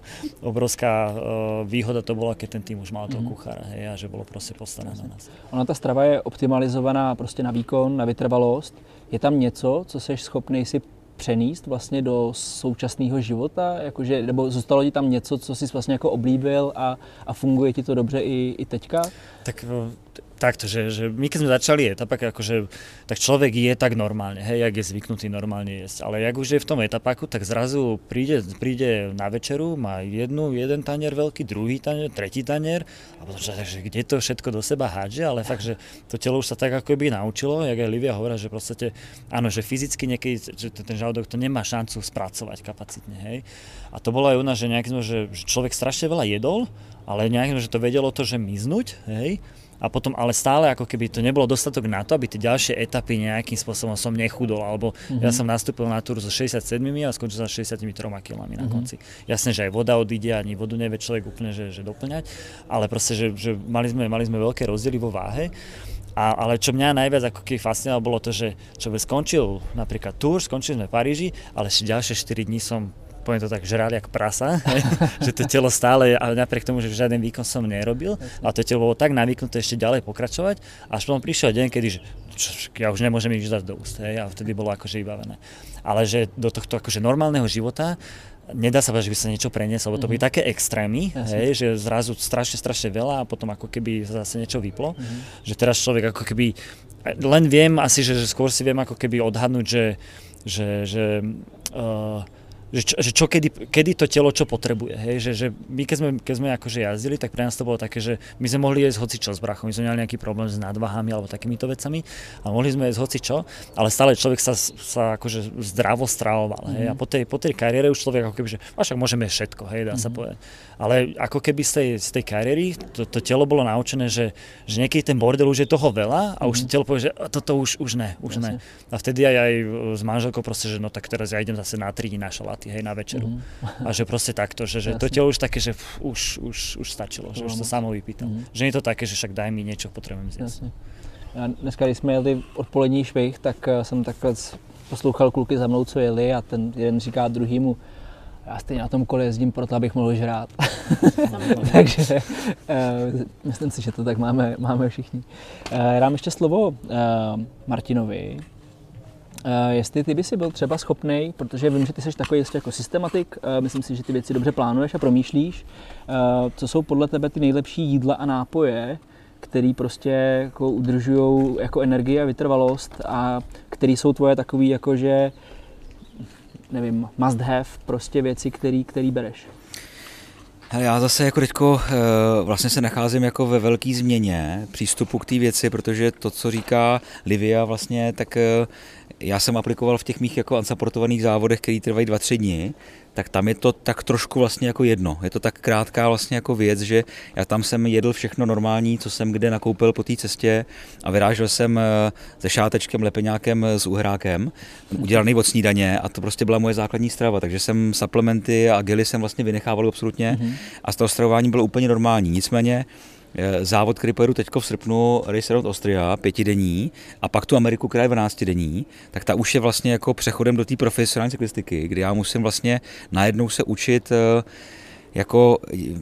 D: obrovská výhoda to bola, keď ten tým už mal toho mm-hmm. kuchára, hej, a že bolo proste postarané na nás.
A: Ona ta strava je optimalizovaná prostě na výkon, na vytrvalost. Je tam něco, co jsi schopný si přenést vlastně do současného života, jakože, nebo zůstalo ti tam něco, co jsi vlastně jako oblíbil a, a funguje ti to dobře i, i teďka?
D: Tak takto, že, že my keď sme začali etapak, akože, tak človek je tak normálne, hej, jak je zvyknutý normálne jesť, ale jak už je v tom etapaku, tak zrazu príde, príde na večeru, má jednu, jeden tanier veľký, druhý tanier, tretí tanier a potom, že, že kde to všetko do seba hádže, ale fakt, že to telo už sa tak ako by naučilo, jak aj Livia hovorila, že proste, áno, že fyzicky niekedy, že ten žalúdok to nemá šancu spracovať kapacitne, hej. A to bolo aj u nás, že nejakým, že človek strašne veľa jedol, ale nejakým, že to vedelo to, že miznúť, hej. A potom ale stále ako keby to nebolo dostatok na to, aby tie ďalšie etapy nejakým spôsobom som nechudol, alebo mm-hmm. ja som nastúpil na túr so šesťdesiatsedem a skončil sa šesťdesiattri kilami na mm-hmm. konci. Jasné, že aj voda odíde, ani vodu nevie človek úplne že, že doplňať, ale proste, že, že mali, sme, mali sme veľké rozdiely vo váhe. A, ale čo mňa najviac ako keby fascinovalo bolo to, že človek skončil napríklad túr, skončili sme v Paríži, ale ešte ďalšie štyri dní som poviem to tak, žral jak prasa, že to telo stále, ale napriek tomu, že žiaden výkon som nerobil, ale to telo bolo tak navyknuté ešte ďalej pokračovať, až potom prišiel deň, kedy že, čo, ja už nemôžem nič dať do úst, hej, a vtedy bolo akože vybavené. Ale že do tohto akože normálneho života nedá sa povedať, že by sa niečo prenieslo, lebo to byli také extrémy, hej, že zrazu strašne, strašne veľa a potom ako keby zase niečo vyplo, mm-hmm. že teraz človek ako keby, len viem asi, že, že skôr si viem ako keby odhadnúť, že, že, že uh, Že čo, že čo kedy, kedy to telo čo potrebuje, hej, že, že my keď sme, keď sme akože jazdili, tak pre nás to bolo také, že my sme mohli jesť hocičo s brachom, my sme mali nejaký problém s nadvahami alebo takýmito vecami, ale mohli sme jesť hocičo, ale stále človek sa, sa akože zdravo stravoval, hej, mm-hmm. a po tej, po tej kariére už človek ako keby, že a však môžeme jesť všetko, hej, dá mm-hmm. sa povedať. Ale ako keby z tej, z tej kariéry to, to telo bolo naučené, že, že niekedy ten bordel už je toho veľa a mm-hmm. už to telo povie, že toto už, už ne, už Jasne. ne. A vtedy aj, aj s manželkou proste, že no tak teraz ja idem zase na tri dní na šaláty, hej, na večeru. Mm-hmm. A že proste takto, že, že to telo už také, že pf, už, už, už stačilo, že už to samo vypýtal. Mm-hmm. Že nie je to také, že však daj mi niečo, potrebujem zjesť. Jasne.
A: Já dneska, když jsme jeli odpolední švih, tak jsem takhle poslouchal kluky za mnou, co jeli a ten jeden říká druhýmu, já stejně na tom kole jezdím proto, abych mohl žrát. Takže uh, myslím si, že to tak máme, máme všichni. Uh, dám ještě slovo uh, Martinovi. Uh, jestli ty by si byl třeba schopnej, protože vím, že ty jsi takový jako systematik, uh, myslím si, že ty věci dobře plánuješ a promýšlíš, uh, co jsou podle tebe ty nejlepší jídla a nápoje, který prostě jako udržují jako energii a vytrvalost a který jsou tvoje takový jakože, nevím, must have, prostě věci, který, který bereš.
B: Hele, já zase jako teďko vlastně se nacházím jako ve velké změně přístupu k té věci, protože to, co říká Livia vlastně, tak já jsem aplikoval v těch mých jako unsupportovaných závodech, který trvají dva, tři dny, tak tam je to tak trošku vlastně jako jedno. Je to tak krátká vlastně jako věc, že já tam jsem jedl všechno normální, co jsem kde nakoupil po té cestě a vyrážel jsem se šátečkem, lepeňákem, s uhrákem, udělaný od snídaně a to prostě byla moje základní strava, takže jsem suplementy a gely jsem vlastně vynechával absolutně mm-hmm. a z toho stravování bylo úplně normální. Nicméně závod, který pojedu teďko v srpnu, Race Around Austria, pětidenní, a pak tu Ameriku, která je dvanáctidenní, tak ta už je vlastně jako přechodem do té profesionální cyklistiky, kdy já musím vlastně najednou se učit jako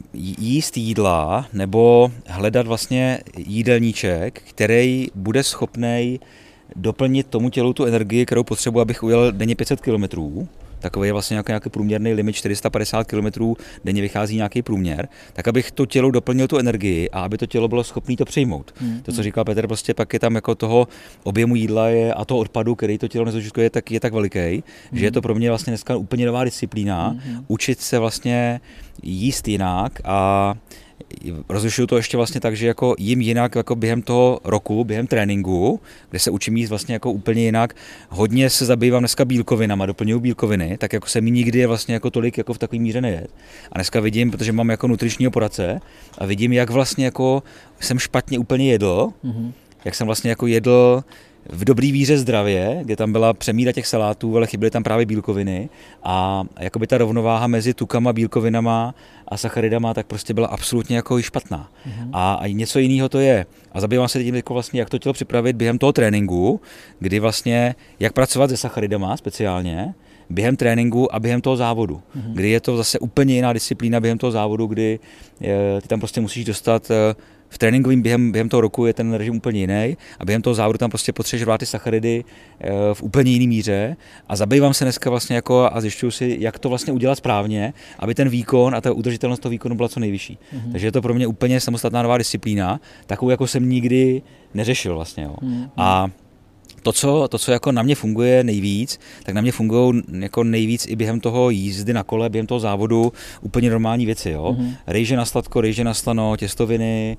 B: jíst jídla nebo hledat vlastně jídelníček, který bude schopnej doplnit tomu tělu tu energii, kterou potřebuji, abych ujel denně pět set kilometrů. Takový je vlastně nějaký, nějaký průměrný limit čtyři sta padesát kilometrů, denně vychází nějaký průměr, tak abych to tělo doplnil tu energii a aby to tělo bylo schopné to přijmout. Hmm. To, co říkal Petr, prostě pak je tam jako toho objemu jídla je, a toho odpadu, který to tělo nezužitkuje, tak je tak veliký, hmm. že je to pro mě vlastně dneska úplně nová disciplína, hmm. učit se vlastně jíst jinak a rozlišuju to ještě vlastně tak, že jako jím jinak jako během toho roku, během tréninku, kde se učím jíst vlastně jako úplně jinak. Hodně se zabývám dneska bílkovinama, doplňuju bílkoviny, tak jako se mi nikdy je vlastně jako tolik jako v takové míře nejet. A dneska vidím, protože mám jako nutričního poradce a vidím, jak vlastně jako jsem špatně úplně jedl, mm-hmm. jak jsem vlastně jako jedl v dobrý víře zdravě, kde tam byla přemíra těch salátů, ale chyběly tam právě bílkoviny a jakoby ta rovnováha mezi tukama, bílkovinama a sacharidama tak prostě byla absolutně jako špatná. Mm-hmm. A, a něco jiného to je. A zabývám se tím jako vlastně, jak to tělo připravit během toho tréninku, kdy vlastně, jak pracovat se sacharidama speciálně, během tréninku a během toho závodu, mm-hmm. kdy je to zase úplně jiná disciplína během toho závodu, kdy je, ty tam prostě musíš dostat v tréninkovým během, během toho roku je ten režim úplně jiný a během toho závodu tam prostě potřebuješ rvát ty sacharidy v úplně jiný míře a zabývám se dneska vlastně jako a zjišťuju si, jak to vlastně udělat správně, aby ten výkon a ta udržitelnost toho výkonu byla co nejvyšší. Mm-hmm. Takže je to pro mě úplně samostatná nová disciplína, takovou jako jsem nikdy neřešil vlastně. Jo. Mm-hmm. A To co, to, co jako na mě funguje nejvíc, tak na mě fungují jako nejvíc i během toho jízdy na kole, během toho závodu úplně normální věci. Jo? Mm-hmm. Rejže na sladko, rejže na slano, těstoviny,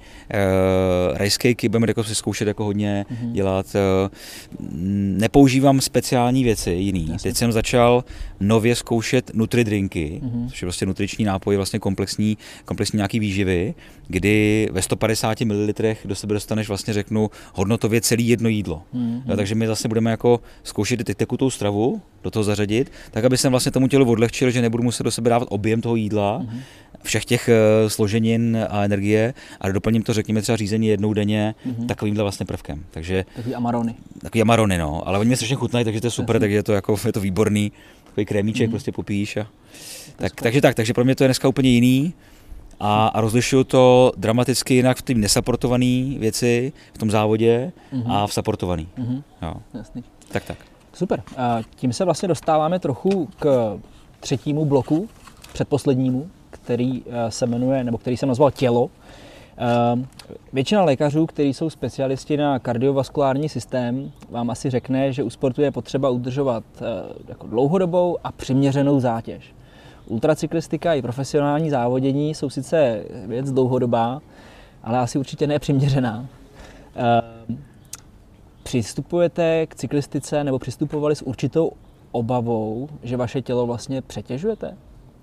B: uh, rice cakey, budeme jako si zkoušet jako hodně mm-hmm. dělat. Uh, nepoužívám speciální věci jiný. Jasně. Teď jsem začal nově zkoušet nutridrinky, mm-hmm. což je vlastně nutriční nápoj, vlastně komplexní, komplexní nějaký výživy, kdy ve sto padesáti mililitrech do sebe dostaneš vlastně řeknu hodnotově celý jedno jídlo. Mm-hmm. Jo, takže my zase budeme jako zkoušet ty tekutou stravu do toho zařadit, tak aby jsem vlastně tomu tělu odlehčil, že nebudu muset do sebe dávat objem toho jídla, mm-hmm. všech těch uh, složenin a energie a doplním to, řekněme, třeba řízení jednou denně mm-hmm. takovýmhle vlastně prvkem. Takže
A: takový amarony.
B: Takový amarony, no, ale oni mě strašně chutnají, takže to je super, takže je to jako je to výborný, takový krémíček mm-hmm. prostě popíš a tak, takže tak, takže pro mě to je dneska úplně jiný. A, a rozlišuju to dramaticky jinak v té nesaportované věci, v tom závodě mm-hmm. a v saportovaný. Mm-hmm. Jo.
A: Jasný.
B: Tak, tak.
A: Super. A tím se vlastně dostáváme trochu k třetímu bloku, předposlednímu, který se jmenuje, nebo který jsem nazval tělo. Většina lékařů, kteří jsou specialisti na kardiovaskulární systém, vám asi řekne, že u sportu je potřeba udržovat jako dlouhodobou a přiměřenou zátěž. Ultracyklistika i profesionální závodění jsou sice věc dlouhodobá, ale asi určitě nepřiměřená. Přistupujete k cyklistice nebo přistupovali s určitou obavou, že vaše tělo vlastně přetěžujete?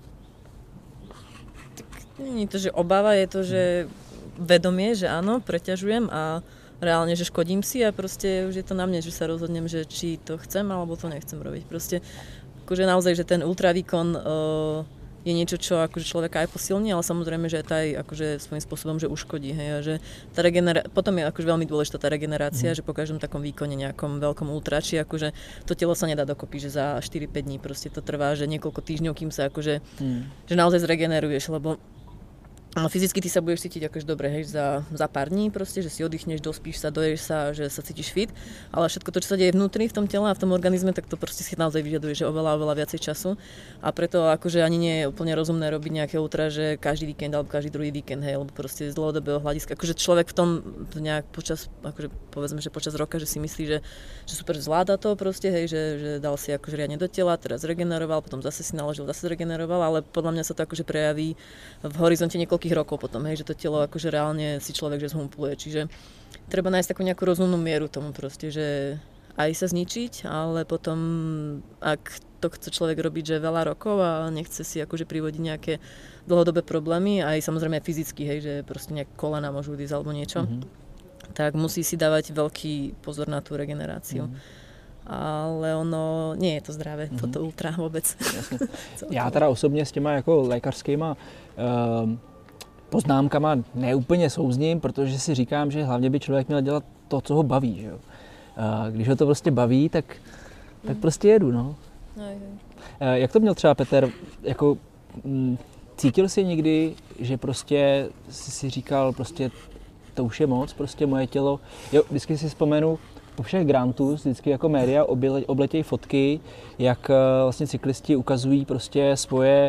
C: Není to, že obava, je to, že vedomie, že áno, preťažujem a reálne, že škodím si a proste už je to na mne, že sa rozhodnem, že či to chcem alebo to nechcem robiť. Proste akože naozaj, že ten ultravýkon uh, je niečo, čo akože človeka aj posilní, ale samozrejme, že to aj akože svojím spôsobom, že uškodí. Hej, a že tá regenera- potom je akože veľmi dôležitá tá regenerácia, mm. že po každom takom výkone nejakom veľkom ultrači, akože to telo sa nedá dokopy, že za štyri päť dní proste to trvá, že niekoľko týždňov, kým sa akože, mm. že naozaj zregeneruješ, lebo No, fyzicky ty sa budeš cítiť akože dobre, hej, za, za pár dní proste, že si oddychneš, dospíš sa, doješ sa, že sa cítiš fit, ale všetko to, čo sa deje vnútri v tom tele a v tom organizme, tak to proste si naozaj vyžaduje, že oveľa, oveľa viacej času a preto akože ani nie je úplne rozumné robiť nejaké ultra, že každý víkend alebo každý druhý víkend, hej, lebo proste z dlhodobého hľadiska, akože človek v tom nejak počas, akože povedzme, že počas roka, že si myslí, že, že super zvláda to proste, hej, že, že dal si akože riadne do tela, teraz regeneroval, potom zase si naložil, zase zregeneroval, ale podľa mňa sa to akože prejaví v horizonte niekoľkých rokov potom, hej, že to telo akože reálne si človek že zhumpluje, čiže treba nájsť takú nejakú rozumnú mieru tomu proste, že aj sa zničiť, ale potom ak to chce človek robiť, že veľa rokov a nechce si akože privodiť nejaké dlhodobé problémy, aj samozrejme aj fyzicky, hej, že proste nejaké kolena môžu ísť alebo niečo, mm-hmm. tak musí si dávať veľký pozor na tú regeneráciu. Mm-hmm. Ale ono nie je to zdravé, mm-hmm. toto ultra vôbec.
A: Já teda osobně s těma jako lékařskýma um, poznámkama neúplně souzním, protože si říkám, že hlavně by člověk měl dělat to, co ho baví. Že jo? A když ho to prostě baví, tak, tak prostě jedu. No.
C: No,
A: jak to měl třeba Petr? Jako, m, cítil jsi někdy, že prostě jsi si říkal, prostě to už je moc, prostě moje tělo. Jo, vždycky si vzpomenu, po všech grantů vždycky jako média obletějí fotky, jak vlastně cyklisti ukazují prostě svoje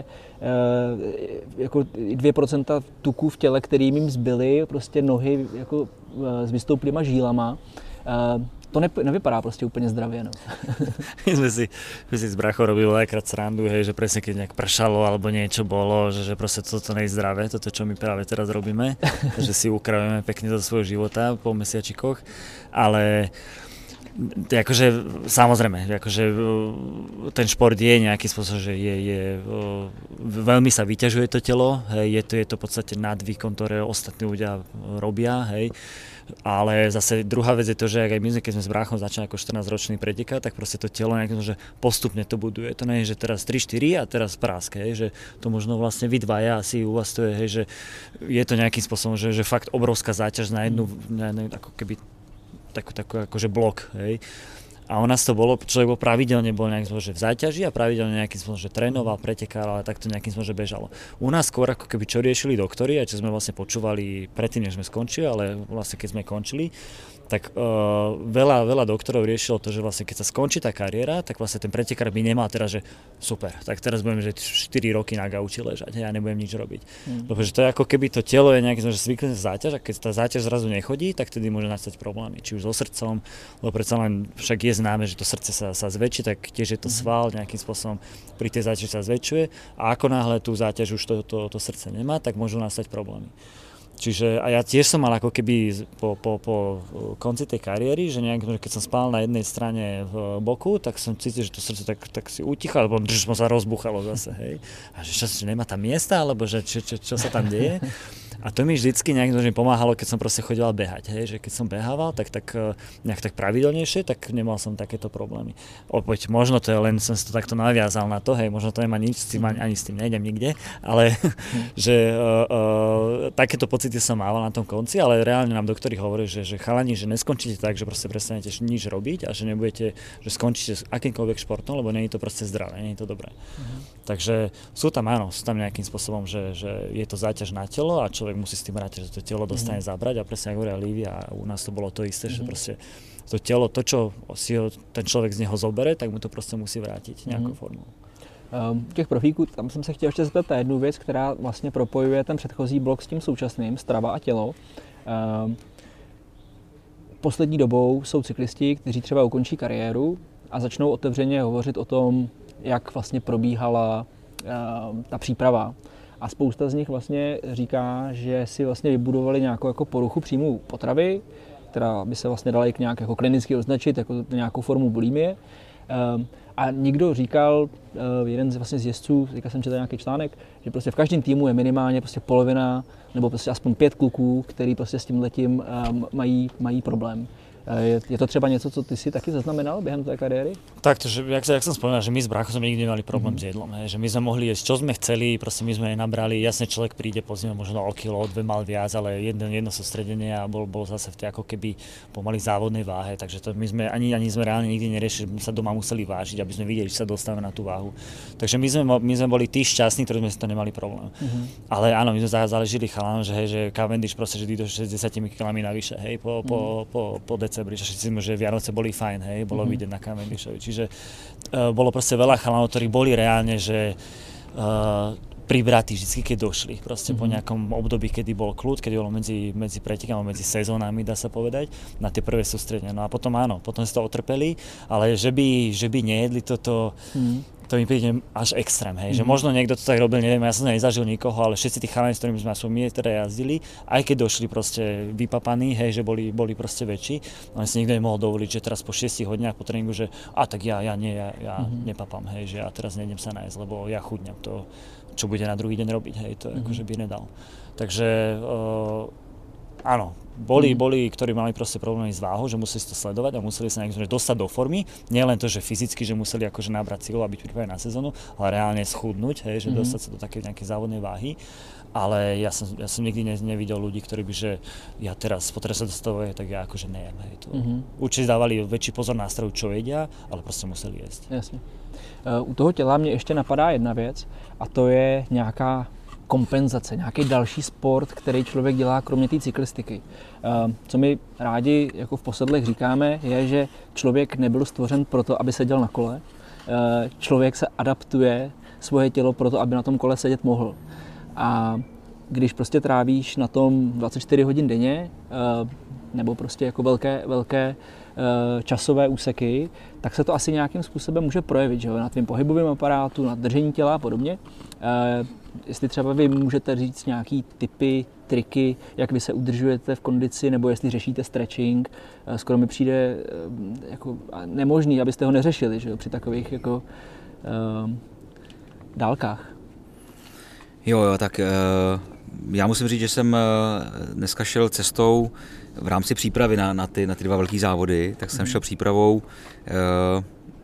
A: jako dvě procenta tuků v těle, kterým jim zbyly, prostě nohy jako s vystouplýma žílama. To ne, nevypadá prostě úplně zdravě, no.
D: My sme si, my si s brachou robili veľakrát srandu, hej, že presne keď nejak pršalo alebo niečo bolo, že, že proste toto nie je zdravé, toto čo my práve teraz robíme, že si ukravujeme pekne do svojho života po mesiačikoch, ale akože samozrejme, akože ten šport je nejaký spôsob, že je, je veľmi sa vyťažuje to telo, hej, je to, je to v podstate nad výkon, ktoré ostatní ľudia robia, hej. Ale zase druhá vec je to, že aj my sme, keď sme s bráchom začali ako štrnásťročný pretekať, tak proste to telo nejakým, že postupne to buduje. To nie je, že teraz tri štyri a teraz práske, hej, že to možno vlastne vy dvaja asi u vás to je, hej, že je to nejakým spôsobom, že, že fakt obrovská záťaž na jednu, na jednu ako keby takú, takú akože blok, hej. A u nás to bolo, človek bol pravidelne bol nejakým spôsobom, že v záťaži a pravidelne nejakým spôsobom, že trénoval, pretekal, ale takto nejakým spôsobom, že bežalo. U nás skôr ako keby čo riešili doktori a čo sme vlastne počúvali predtým, než sme skončili, ale vlastne keď sme končili, tak uh, veľa, veľa doktorov riešilo to, že vlastne keď sa skončí tá kariéra, tak vlastne ten pretekár by nemal teraz, že super, tak teraz budem že štyri roky na gauči ležať, ja nebudem nič robiť. Mm. Lebo že to je ako keby to telo je nejaký zvyklené záťaž a keď tá záťaž zrazu nechodí, tak tedy môže nastať problémy, či už so srdcom, lebo predsa len však je známe, že to srdce sa, sa zväčší, tak tiež je to sval nejakým spôsobom pri tej záťaži sa zväčšuje a ako náhle tú záťaž už to, to, to srdce nemá, tak môžu nastať problémy. Čiže a ja tiež som mal ako keby po, po, po konci tej kariéry, že nejak, keď som spal na jednej strane v boku, tak som cítil, že to srdce tak, tak si utichalo, alebo že sa rozbuchalo zase, hej. A že čo, že nemá tam miesta, alebo že čo, čo, čo sa tam deje. A to mi vždycky nejak pomáhalo, keď som proste chodil behať, hej, že keď som behával, tak, tak nejak tak pravidelnejšie, tak nemal som takéto problémy. Opäť možno to je len, som si to takto naviazal na to, hej, možno to nemá nič s tým, ani, ani s tým nejdem nikde, ale že uh, uh, takéto pocity som mal na tom konci, ale reálne nám doktori hovorí, že, že chalani, že neskončíte tak, že proste prestanete nič robiť a že nebudete, že skončíte s akýmkoľvek športom, lebo nie je to proste zdravé, nie je to dobré. Uh-huh. Takže sú tam, áno, sú tam nejakým spôsobom, že, že je to záťaž na telo a človek musí s tým ráť, že to telo dostane mm-hmm. zabrať a presne ako hovoria Lívia a u nás to bolo to isté, mm-hmm. že proste to telo, to čo si ho, ten človek z neho zobere, tak mu to prostě musí vrátit nějakou mm-hmm. formou.
A: Um, těch profíků, tam jsem se chtěl ještě zeptat na jednu věc, která vlastně propojuje ten předchozí blok s tím současným, strava a tělo. Um, poslední dobou jsou cyklisti, kteří třeba ukončí kariéru a začnou otevřeně hovořit o tom, jak vlastně probíhala um, ta příprava. A spousta z nich vlastně říká, že si vlastně vybudovali nějakou jako poruchu příjmu potravy, která by se vlastně dala i nějak jako klinicky označit jako nějakou formu bulimie. Um, a někdo říkal, uh, jeden z, vlastně z jezdců, říkal jsem četl nějaký článek, že prostě v každém týmu je minimálně prostě polovina nebo prostě aspoň pět kluků, který prostě s tímhletím um, mají, mají problém. Je, je to třeba něco, co ty si taky zaznamenal během té kariéry?
D: Tak, že, jak, jak som spomínal, že my s bráchom sme nikdy nemali problém mm. s jedlom, hej, že my sme mohli jesť, čo sme chceli, proste my sme nenabrali, jasne človek príde po zime možno o kilo, o dve mal viac, ale jedno, jedno sústredenie a bol, bol zase v tej ako keby pomaly závodnej váhe, takže to my sme ani, ani sme reálne nikdy neriešili, my sa doma museli vážiť, aby sme videli, či sa dostávame na tú váhu. Takže my sme, my sme boli tí šťastní, ktorí sme si to nemali problém. Mm-hmm. Ale áno, my sme záležili chalánom, že hej, že Cavendish proste, že do šesťdesiat kilami navyše, hej, po, mm-hmm. po, po, po decembri, že všetci sme, že Vianoce boli fajn, hej, bolo mm-hmm. vidieť na Cavendishovi. Čiže uh, bolo proste veľa chalanov, ktorí boli reálne, že uh, pribratí vždy, keď došli. Proste mm-hmm. po nejakom období, kedy bol kľud, kedy bolo medzi, medzi pretekami, medzi sezónami, dá sa povedať, na tie prvé sústredenia. No a potom áno, potom si to otrpeli, ale že by, že by nejedli toto, mm-hmm. to mi príde až extrém, hej, mm-hmm. že možno niekto to tak robil, neviem, ja som nezažil nikoho, ale všetci tí chalani, s ktorými sme my teda jazdili, aj keď došli proste vypapaní, hej, že boli, boli proste väčší, ale si nikto nemohol dovoliť, že teraz po šiestich hodinách po tréningu, že a tak ja, ja nie, ja, ja mm-hmm. nepapám, hej, že ja teraz nejdem sa nájsť, lebo ja chudnem to, čo bude na druhý deň robiť, hej, to mm-hmm. akože by nedal. Takže uh, áno, boli, mm. boli, ktorí mali proste problémy s váhou, že museli si to sledovať a museli sa nejak dostať do formy. Nie len to, že fyzicky, že museli akože nabrať silu a byť pripravení na sezónu, ale reálne schudnúť, hej, že mm. dostať sa do takej nejakej závodnej váhy. Ale ja som, ja som nikdy ne, nevidel ľudí, ktorí by, že ja teraz potrebujem sa dostavovať, tak ja akože nejem. Hej, to. Mm-hmm. Určite dávali väčší pozor na stravu, čo jedia, ale prostě museli jesť.
A: Jasně. Uh, u toho těla mě ještě napadá jedna věc a to je nějaká kompenzace, nějaký další sport, který člověk dělá kromě té cyklistiky. Co my rádi jako v posedlech říkáme, je, že člověk nebyl stvořen proto, aby seděl na kole. Člověk se adaptuje svoje tělo proto, aby na tom kole sedět mohl. A když prostě trávíš na tom dvacet čtyři hodin denně, nebo prostě jako velké, velké časové úseky, tak se to asi nějakým způsobem může projevit, že jo? Na tvém pohybovém aparátu, na držení těla a podobně. Jestli třeba vy můžete říct nějaký tipy, triky, jak vy se udržujete v kondici, nebo jestli řešíte stretching, skoro mi přijde jako nemožný, abyste ho neřešili, že jo? Při takových jako uh, dálkách.
B: Jo, jo, tak uh, já musím říct, že jsem uh, dneska šel cestou v rámci přípravy na, na, ty, na ty dva velký závody, tak jsem mm. šel přípravou uh,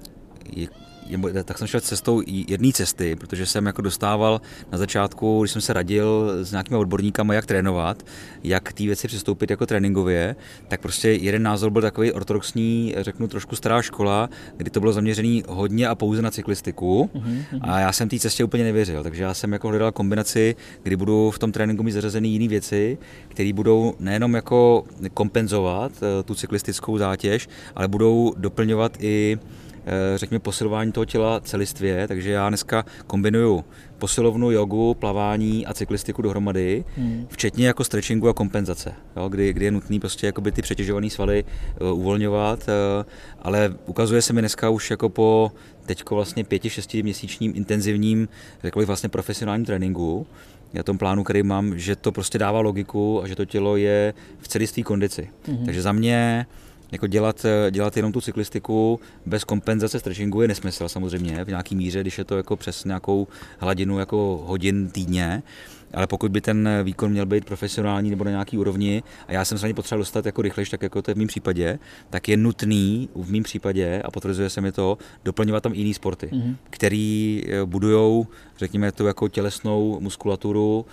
B: je, je, tak jsem šel cestou jedné cesty, protože jsem jako dostával na začátku, když jsem se radil s nějakými odborníkama, jak trénovat, jak k té věci přistoupit jako tréninkově, tak prostě jeden názor byl takový ortodoxní, řeknu trošku stará škola, kdy to bylo zaměřené hodně a pouze na cyklistiku mm-hmm. a já jsem té cestě úplně nevěřil, takže já jsem jako hledal kombinaci, kdy budu v tom tréninku mít zařazené jiné věci, které budou nejenom jako kompenzovat tu cyklistickou zátěž, ale budou doplňovat i řekněme posilování toho těla celistvě, takže já dneska kombinuju posilovnu, jogu, plavání a cyklistiku dohromady, hmm. včetně jako stretchingu a kompenzace, jo, kdy, kdy je nutný prostě jakoby ty přetěžované svaly uh, uvolňovat, uh, ale ukazuje se mi dneska už jako po teďko vlastně pěti, šesti měsíčním intenzivním, řekl bych vlastně profesionálním tréninku, na tom plánu, který mám, že to prostě dává logiku a že to tělo je v celistvý kondici. Hmm. Takže za mě jako dělat, dělat jenom tu cyklistiku bez kompenzace stretchingu je nesmysl samozřejmě v nějaký míře, když je to jako přes nějakou hladinu jako hodin týdně, ale pokud by ten výkon měl být profesionální nebo na nějaký úrovni a já jsem se na ně potřeboval dostat jako rychlejš, tak jako to je v mém případě, tak je nutný v mém případě, a potvrzuje se mi to, doplňovat tam jiný sporty, mm-hmm. který budujou, řekněme, tu jako tělesnou muskulaturu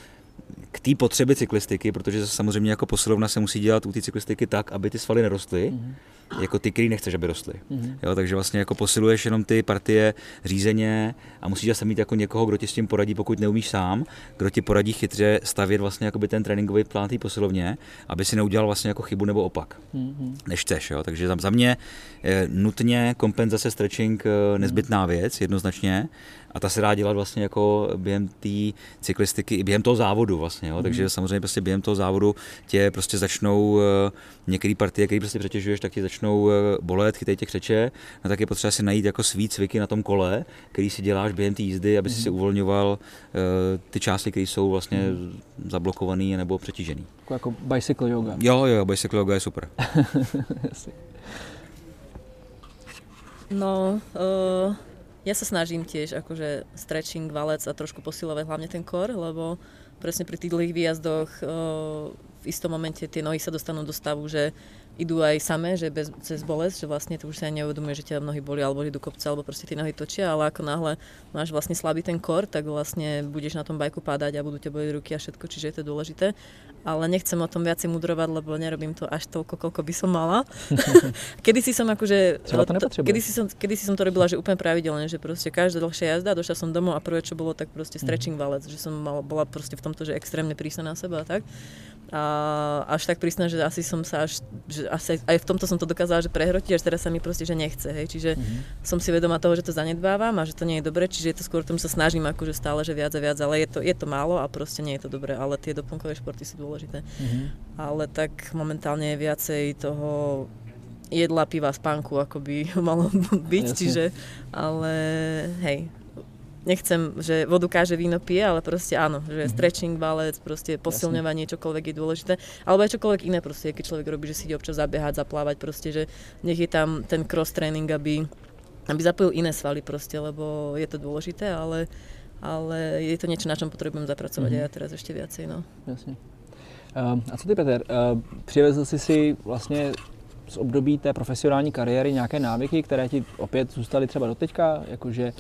B: k té potřeby cyklistiky, protože samozřejmě jako posilovna se musí dělat u té cyklistiky tak, aby ty svaly nerostly, mm-hmm. jako ty, který nechceš, aby rostly. Mm-hmm. Jo, takže vlastně jako posiluješ jenom ty partie řízeně a musíš zase mít jako někoho, kdo ti s tím poradí, pokud neumíš sám, kdo ti poradí chytře stavět vlastně jakoby ten tréninkový plán té posilovně, aby si neudělal vlastně jako chybu nebo opak, mm-hmm. než chceš. Jo. Takže za mě je nutně kompenzace stretching nezbytná věc, jednoznačně. A ta se dá dělat vlastně jako během té cyklistiky i během toho závodu vlastně, jo. Mm. Takže samozřejmě prostě během toho závodu tě prostě začnou uh, některé partie, které prostě přetěžuješ, tak ti začnou uh, bolet, chytají tě křeče, no tak je potřeba si najít jako svý cviky na tom kole, který si děláš během té jízdy, aby mm. si si uvolňoval uh, ty části, které jsou vlastně mm. zablokované nebo přetížené.
A: Jako, jako bicycle yoga.
B: Jo, jo, bicycle yoga je super.
C: No, uh... ja sa snažím tiež akože stretching, valec a trošku posilovať hlavne ten core, lebo presne pri tých dlhých výjazdoch v istom momente tie nohy sa dostanú do stavu, že idú aj samé, že bez, cez bolesť, že vlastne to už sa aj neuvedomuje, že ťa nohy boli alebo idú kopce, alebo proste tie nohy točia, ale ako náhle máš vlastne slabý ten kor, tak vlastne budeš na tom bajku padať a budú ťa bolieť ruky a všetko, čiže je to dôležité. Ale nechcem o tom viacej mudrovať, lebo nerobím to až toľko, koľko by som mala. Kedy si som akože...
A: To
C: kedy si som, kedy si som to robila, že úplne pravidelne, že proste každá dlhšia jazda, došla som domov a prvé, čo bolo, tak proste stretching valec, že som mal, bola proste v tomto, že extrémne prísna na seba a tak. A až tak prísna, že asi som sa až, že asi aj v tomto som to dokázala, že prehrotiť, až teraz sa mi proste, že nechce, hej, čiže mm-hmm. som si vedomá toho, že to zanedbávam a že to nie je dobre, čiže je to skôr tom, že sa snažím akože stále, že viac a viac, ale je to, je to málo a proste nie je to dobre, ale tie doplnkové športy sú dôležité. Mm-hmm. Ale tak momentálne je viacej toho jedla, piva, spánku, ako by malo byť, Jasne. Čiže, ale hej, nechcem, že vodu káže, víno pije, ale proste áno, že mm-hmm. stretching, balec, proste posilňovanie, čokoľvek je dôležité, alebo aj čokoľvek iné proste, keď človek robí, že si ide občas zabiehať, zaplávať proste, že nech je tam ten cross training, aby, aby zapojil iné svaly proste, lebo je to dôležité, ale, ale je to niečo, na čom potrebujem zapracovať mm-hmm. aj ja teraz ešte viacej, no.
A: Jasne. Uh, a co ty, Peter, uh, přivezl jsi si vlastně z období té profesionální kariéry nějaké návyky, které ti opět zůstaly třeba doteďka, jakože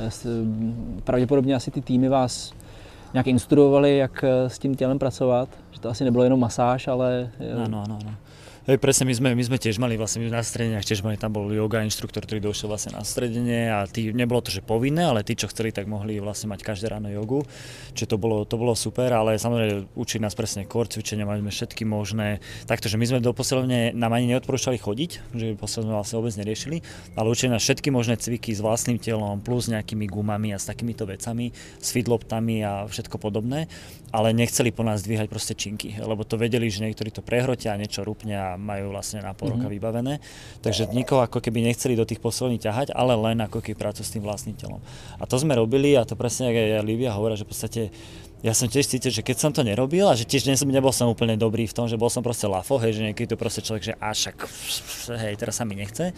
A: pravděpodobně asi ty týmy vás nějak instruovali, jak s tím tělem pracovat, že to asi nebylo jenom masáž, ale...
D: Áno, áno, áno. Hej, presne, my sme, my sme tiež mali vlastne na stredeniach, tiež mali, tam bol yoga inštruktor, ktorý došiel vlastne na stredenie a tí, nebolo to, že povinné, ale tí, čo chceli, tak mohli vlastne mať každé ráno jogu, čiže to bolo, to bolo super, ale samozrejme učili nás presne core cvičenia, mali sme všetky možné, takto, že my sme do posilovne nám ani neodporúčali chodiť, že posilovne vlastne vôbec neriešili, ale učili nás všetky možné cviky s vlastným telom, plus nejakými gumami a s takýmito vecami, s feedloptami a všetko podobné, ale nechceli po nás dvíhať proste činky, lebo to vedeli, že niektorí to prehrotia, niečo rúpne a majú vlastne na pol roka mm-hmm. vybavené. Takže nikoho ako keby nechceli do tých posilovní ťahať, ale len ako keby prácu s tým vlastným telom. A to sme robili a to presne, ako aj Lívia hovorila, že v podstate ja som tiež cítil, že keď som to nerobil a že tiež nebol som úplne dobrý v tom, že bol som proste lafo, hej, že niekedy to proste človek, že až však, hej, teraz sa mi nechce.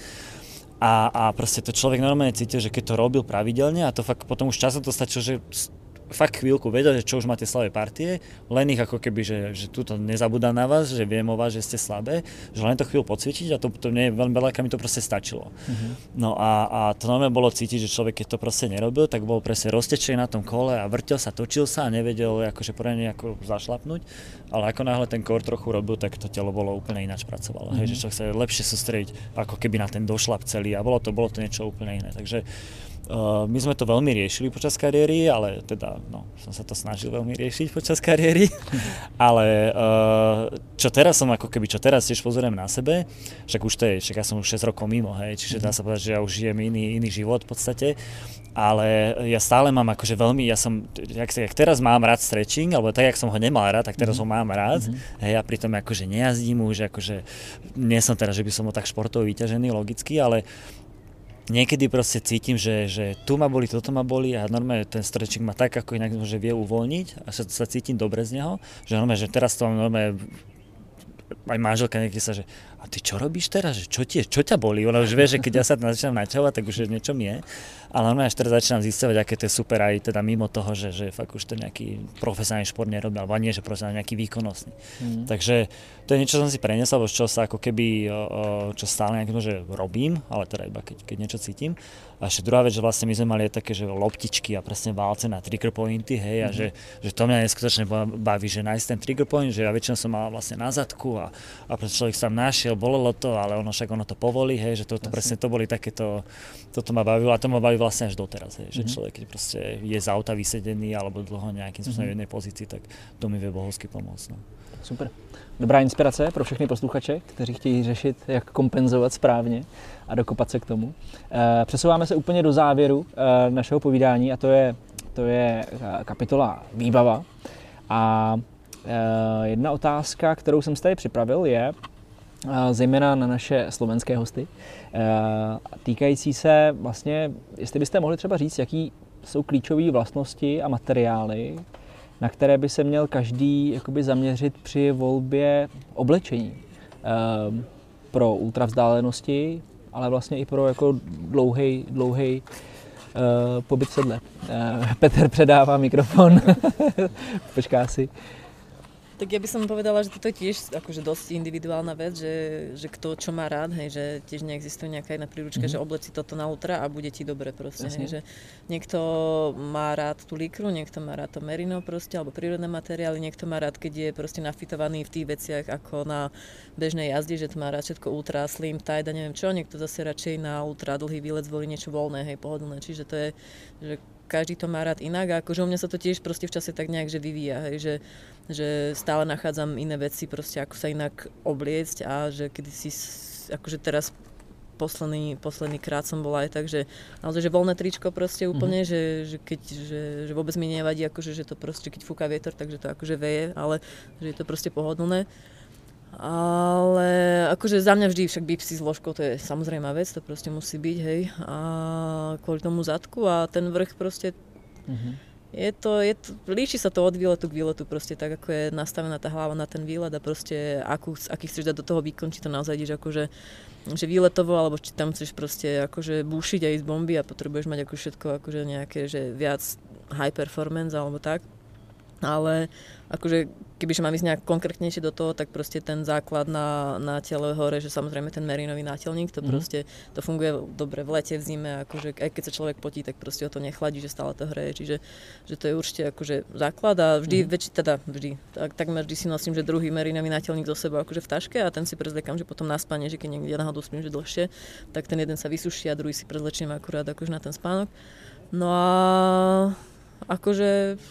D: A, a proste to človek normálne cítil, že keď to robil pravidelne a to fakt potom už časom to stačilo, že fakt chvíľku vedel, že čo už máte slabé partie, len ich ako keby, že, že tuto nezabúda na vás, že viem o vás, že ste slabé, že len to chvíľu pocvičiť a to, to nie, veľmi veľa mi to proste stačilo. Mm-hmm. No a, a to normálne bolo cítiť, že človek, keď to proste nerobil, tak bol presne roztečený na tom kole a vrtel sa, točil sa a nevedel akože poriadne ako zašlapnúť, ale ako náhle ten core trochu robil, tak to telo bolo úplne ináč pracovalo. Mm-hmm. Hej, že človek sa lepšie sústrediť ako keby na ten došlap celý a bolo to, bolo to niečo úplne iné. Takže Uh, my sme to veľmi riešili počas kariéry, ale teda, no, som sa to snažil veľmi riešiť počas kariéry, ale uh, čo teraz som ako keby, čo teraz tiež pozorujem na sebe, však už to je, však ja som už šesť rokov mimo, hej, čiže dá sa povedať, že ja už žijem iný, iný život v podstate, ale ja stále mám akože veľmi, ja som, jak, jak teraz mám rád stretching, alebo tak, jak som ho nemal rád, tak teraz ho mám rád, mm-hmm. hej, a pritom akože nejazdím už, akože nie som teraz, že by som bol tak športovo vyťažený, logicky, ale niekedy proste cítim, že, že tu ma boli, toto ma boli a normálne ten stretching ma tak ako inak že vie uvoľniť a sa, sa cítim dobre z neho, že normálne, že teraz to mám normálne aj manželka niekde sa, že a ty čo robíš teraz, že čo, tie, čo ťa bolí? Ona už vie, že keď ja sa začínam načovať, tak už niečo mi je. Ale normálne až teraz začínam zisťovať, aké to je super aj teda mimo toho, že, že fakt už to nejaký profesionálny šport nerobí, alebo nie, že profesionálny, nejaký výkonnostný. Mm. Takže to je niečo, čo som si preniesol, alebo čo sa ako keby, čo stále nejakým, že robím, ale teda iba keď, keď niečo cítim. A ešte druhá vec, že vlastne my sme mali aj také, že loptičky a presne válce na trigger pointy, hej, mm. a že, že to mňa neskutočne baví, že nájsť ten trigger point, že ja väčšinou som mal vlastne na zadku a, a človek sa tam našiel, bolelo to, ale ono však ono to povolí, hej, že to, to presne to boli takéto, toto ma bavilo a to ma baví vlastne až doteraz, hej, mm-hmm. že človek, keď proste je z auta vysedený alebo dlho nejakým spôsobom mm-hmm. v jednej pozícii, tak to mi vie bohovsky pomôcť. No.
A: Super. Dobrá inspirace pro všechny posluchače, kteří chtějí řešit, jak kompenzovat správně a dokopat se k tomu. E, přesouváme se úplně do závěru e, našeho povídání a to je, to je kapitola výbava. A e, jedna otázka, kterou jsem si tady připravil, je e, zejména na naše slovenské hosty, e, týkající se vlastně, jestli byste mohli třeba říct, jaký jsou klíčové vlastnosti a materiály, na které by se měl každý jakoby zaměřit při volbě oblečení e, pro ultravzdálenosti, ale vlastně i pro jako dlouhej, dlouhej e, pobyt v sedle. E, Petr předává mikrofon, počká si.
C: Tak ja by som povedala, že toto je tiež akože dosť individuálna vec, že, že kto čo má rád, hej, že tiež neexistuje nejaká jedna príručka, mm-hmm. že obleci toto na ultra a bude ti dobre proste, hej, že niekto má rád tú likru, niekto má rád to merino proste, alebo prírodné materiály, niekto má rád, keď je proste nafitovaný v tých veciach ako na bežnej jazde, že to má rád všetko ultra, slim, tight a neviem čo, niekto zase radšej na ultra dlhý výlet zvolí niečo voľné, hej, pohodlné, čiže to je, že každý to má rád inak a akože u mňa sa to tiež proste v čase tak nejak že vyvíja, hej, že, že stále nachádzam iné veci proste ako sa inak obliecť a že kedy si akože teraz posledný, posledný krát som bola aj tak, že naozaj, že voľné tričko proste úplne, mm-hmm. že, že keď, že, že vôbec mi nevadí akože, že to proste, keď fúka vietor, takže to akože veje, ale že je to proste pohodlné. Ale akože za mňa vždy však bipsy s ložkou, to je samozrejmá vec, to proste musí byť, hej, a kvôli tomu zadku a ten vrch proste, mm-hmm. je to, je to, líši sa to od výletu k výletu proste tak, ako je nastavená tá hlava na ten výlet a proste akú, aký chceš dať do toho výkon, či to naozaj ideš akože že výletovo, alebo či tam chceš proste akože búšiť a ísť bomby a potrebuješ mať ako všetko akože nejaké, že viac high performance alebo tak. Ale akože kebyže mám ísť nejak konkrétnejšie do toho, tak proste ten základ na, na tele hore, že samozrejme ten merinový nátelník, to mm. proste, to funguje dobre v lete, v zime, akože aj keď sa človek potí, tak proste ho to nechladí, že stále to hreje, čiže že to je určite akože základ a vždy, mm. väčši, teda vždy, tak, takmer vždy si nosím, že druhý merinový nátelník zo sebou akože v taške a ten si prezliekam, že potom na spanie, že keď niekde náhodou spím, že dlhšie, tak ten jeden sa vysuší a druhý si prezlečím akurát akože na ten spánok. No a akože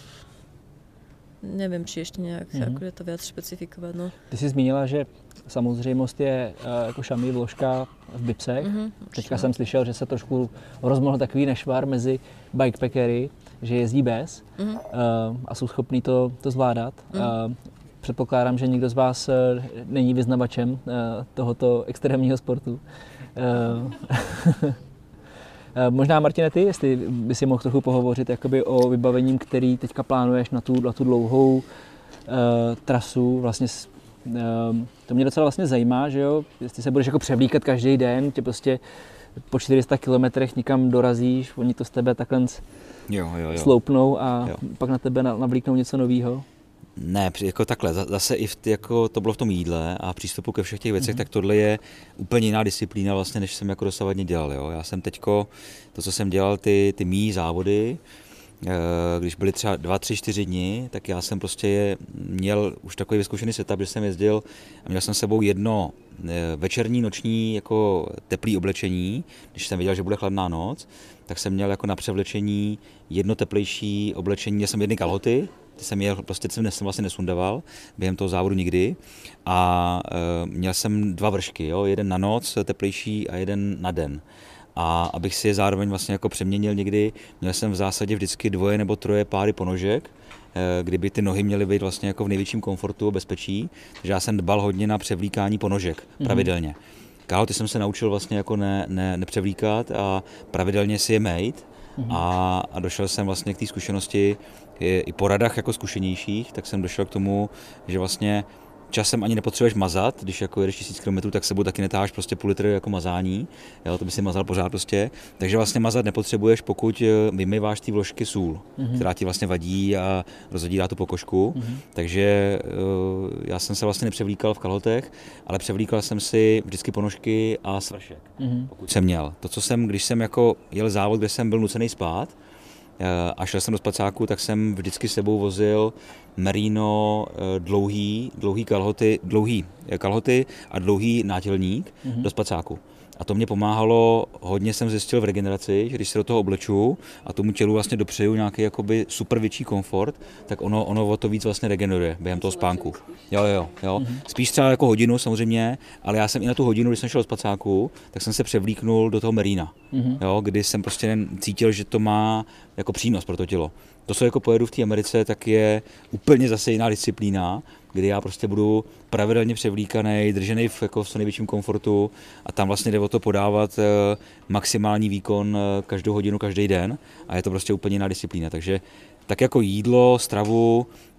C: nevím, či ještě nějak mm-hmm. akože to víc špecifikovat. No.
A: Ty jsi zmínila, že samozřejmost je uh, jako šamí vložka v bipsech. Mm-hmm, Teďka jsem slyšel, že se trošku rozmohl takový nešvar mezi bikepackery, že jezdí bez mm-hmm. uh, a jsou schopní to, to zvládat. Mm-hmm. Uh, předpokládám, že nikdo z vás uh, není vyznavačem uh, tohoto extrémního sportu. Uh, Možná, Martine, ty, jestli by si mohl trochu pohovořit jakoby o vybavením, který teďka plánuješ na tu, na tu dlouhou uh, trasu. Vlastně, uh, to mě docela vlastně zajímá, že jo, jestli se budeš jako převlíkat každý den, tě prostě po čtyři sta kilometrech někam dorazíš, oni to z tebe takhle
B: jo, jo, jo.
A: sloupnou a
B: jo.
A: pak na tebe navlíknou něco nového.
B: Ne, jako takhle, zase i v, jako to bylo v tom jídle a přístupu ke všech těch věcech, mm-hmm. tak tohle je úplně jiná disciplína vlastně, než jsem jako dosavadně dělal. Jo. Já jsem teďko, to, co jsem dělal, ty, ty mý závody, když byly třeba dva, tři, čtyři dny, tak já jsem prostě je, měl už takový vyzkoušený setup, že jsem jezdil a měl jsem s sebou jedno večerní, noční jako teplý oblečení, když jsem věděl, že bude chladná noc, tak jsem měl jako na převlečení jedno teplejší oblečení, měl jsem jedny kalhoty, ty jsem jel, prostě jsem vlastně nesundaval během toho závodu nikdy a e, měl jsem dva vršky, jo, jeden na noc teplejší a jeden na den. A abych si je zároveň vlastně jako přeměnil někdy, měl jsem v zásadě vždycky dvoje nebo troje páry ponožek, e, kdyby ty nohy měly být vlastně jako v největším komfortu a bezpečí, takže já jsem dbal hodně na převlíkání ponožek pravidelně. Mm-hmm. Kalhoty jsem se naučil vlastně jako ne, ne, nepřevlíkat a pravidelně si je mejt. Mm-hmm. A, a došel jsem vlastně k té zkušenosti i, i po radách jako zkušenějších, tak jsem došel k tomu, že vlastně časem ani nepotřebuješ mazat, když jako jedeš tisíc kilometrů, tak sebou taky netáháš prostě půl litru jako mazání, jo, to by si mazal pořád prostě, takže vlastně mazat nepotřebuješ, pokud vymýváš ty vložky sůl, mm-hmm. která ti vlastně vadí a rozhodírá tu pokožku, mm-hmm. takže uh, já jsem se vlastně nepřevlíkal v kalhotech, ale převlíkal jsem si vždycky ponožky a svršek, mm-hmm. pokud jsem měl. To, co jsem, když jsem jako jel závod, kde jsem byl nucený spát, a šel jsem do spacáku, tak jsem vždycky s sebou vozil merino dlouhý, dlouhý kalhoty, dlouhý kalhoty a dlouhý nátělník mm-hmm. do spacáku. A to mě pomáhalo, hodně jsem zjistil v regeneraci, že když se do toho obleču a tomu tělu vlastně dopřeju nějaký jakoby super větší komfort, tak ono, ono o to víc vlastně regeneruje během toho spánku. Jo, jo, jo. Mm-hmm. Spíš třeba jako hodinu samozřejmě, ale já jsem i na tu hodinu, když jsem šel do spacáku, tak jsem se převlíknul do toho merína, mm-hmm. jo, kdy jsem prostě cítil, že to má jako přínos pro to tělo. To, co jako pojedu v té Americe, tak je úplně zase jiná disciplína, kdy já prostě budu pravidelně převlíkaný, držený v, jako v co největším komfortu a tam vlastně jde o to podávat e, maximální výkon e, každou hodinu, každý den a je to prostě úplně jiná disciplína. Takže tak jako jídlo, stravu,